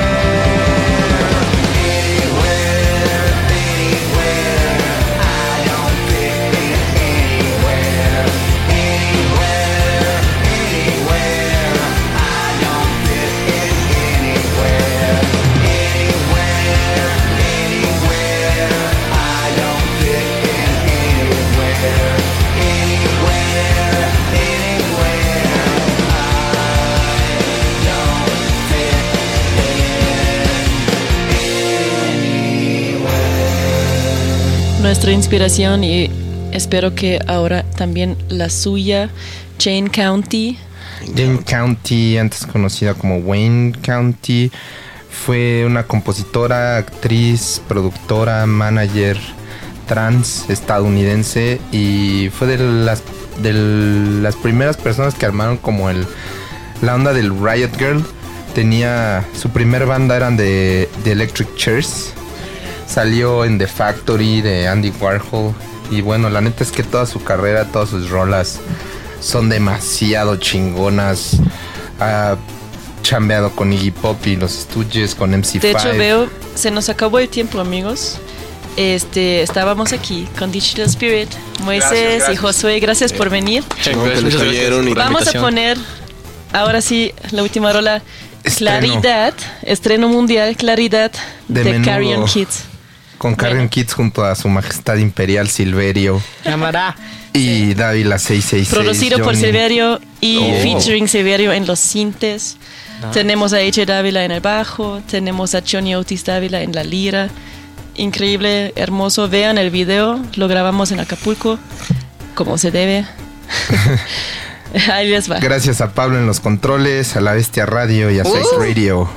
Nuestra inspiración, y espero que ahora también la suya, Jane County. Jane County, antes conocida como Wayne County, fue una compositora, actriz, productora, manager trans estadounidense, y fue de las primeras personas que armaron como la onda del Riot Girl. Su primer banda eran de Electric Chairs. Salió en The Factory de Andy Warhol. Y bueno, la neta es que toda su carrera, todas sus rolas son demasiado chingonas. Ha chambeado con Iggy Pop y los Stooges, con MC5. De hecho, veo, se nos acabó el tiempo, amigos. Estábamos aquí con Digital Spirit, Moisés Gracias. y Josué, gracias por venir. Chingón que les Muchas cayeron y por la Vamos a invitación. poner, ahora sí, la última rola, Estreno. Claridad, estreno mundial, Claridad, De de menudo. Carrion Kids. Con Carrion Kids junto a su majestad imperial Silverio Llamará. y Dávila 666. Producido por Johnny. Silverio y Oh. featuring Silverio en los sintes. Tenemos a AJ Dávila en el bajo, tenemos a Johnny Otis Dávila en la lira. Increíble, hermoso. Vean el video, lo grabamos en Acapulco, como se debe. Ahí les va. Gracias a Pablo en los controles, a La Bestia Radio y a Psych Radio.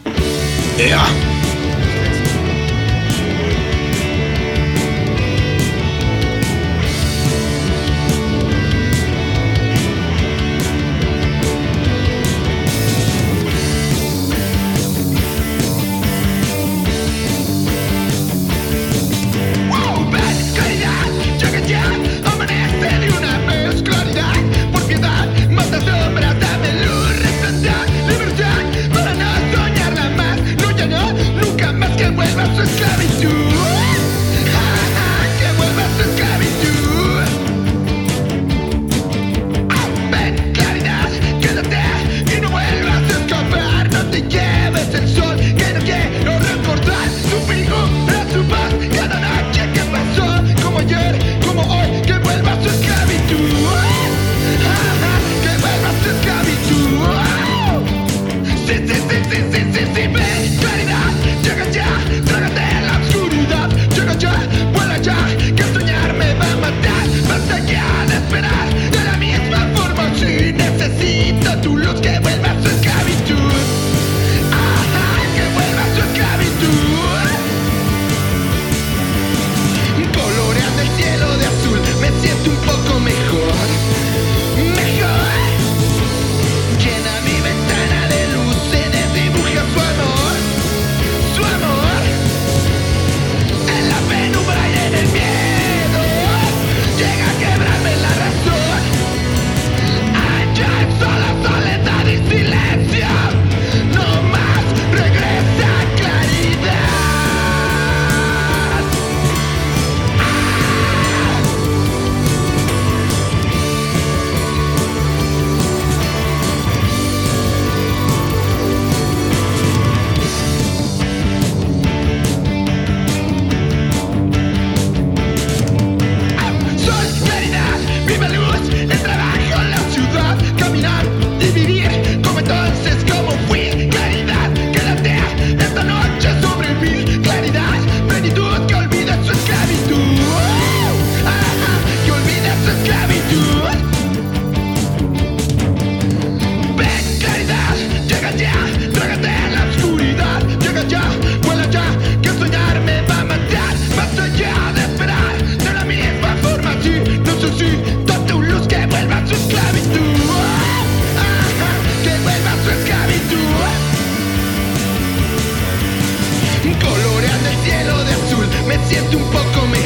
Claridad, llega ya, amanece de una vez. Claridad, por piedad, mata sombras, dame luz, resplandor, libertad, para no soñarla más. No, ya no, nunca más que vuelva a su esclavitud. Que vuelva a su esclavitud. Ven, claridad, quédate y no vuelvas a escapar. No te lleves el sol, que no quiero recordar tu figura, tu paz, cada noche que pasó, como ayer, como hoy, que vuelva a su esclavitud. Que vuelva a su esclavitud. Sí, sí, sí, sí, sí, sí, sí, ven, claridad, llega ya, trágate la oscuridad, llega ya, vuela ya, que soñar me va a matar, basta ya de esperar, de la misma forma, si necesito tu luz, que vuelva a su esclavitud, que vuelva a su esclavitud, coloreando el cielo de azul, me siento un poco mejor, mejor. Llena mi ventana de luces, dibuja su amor, su amor. En la penumbra y en el miedo, llega a quebrarme la razón. Allá en sola soledad y silencio, no más regresa claridad. Sol, claridad, viva luz, el trabajo, la ciudad, caminar y vivir como entonces, como fui. Claridad, quédate esta noche sobre mí. Claridad, plenitud, que olvide su esclavitud. Que olvide su esclavitud. Ven, claridad, llega ya, trágate la oscuridad. Llega ya, vuela ya, que soñar me va a matar. Basta ya de esperar, de la misma forma, sí, necesito tu luz, que vuelva a su esclavitud. Que vuelva a su esclavitud. Coloreando el cielo de azul, me siento un poco mejor.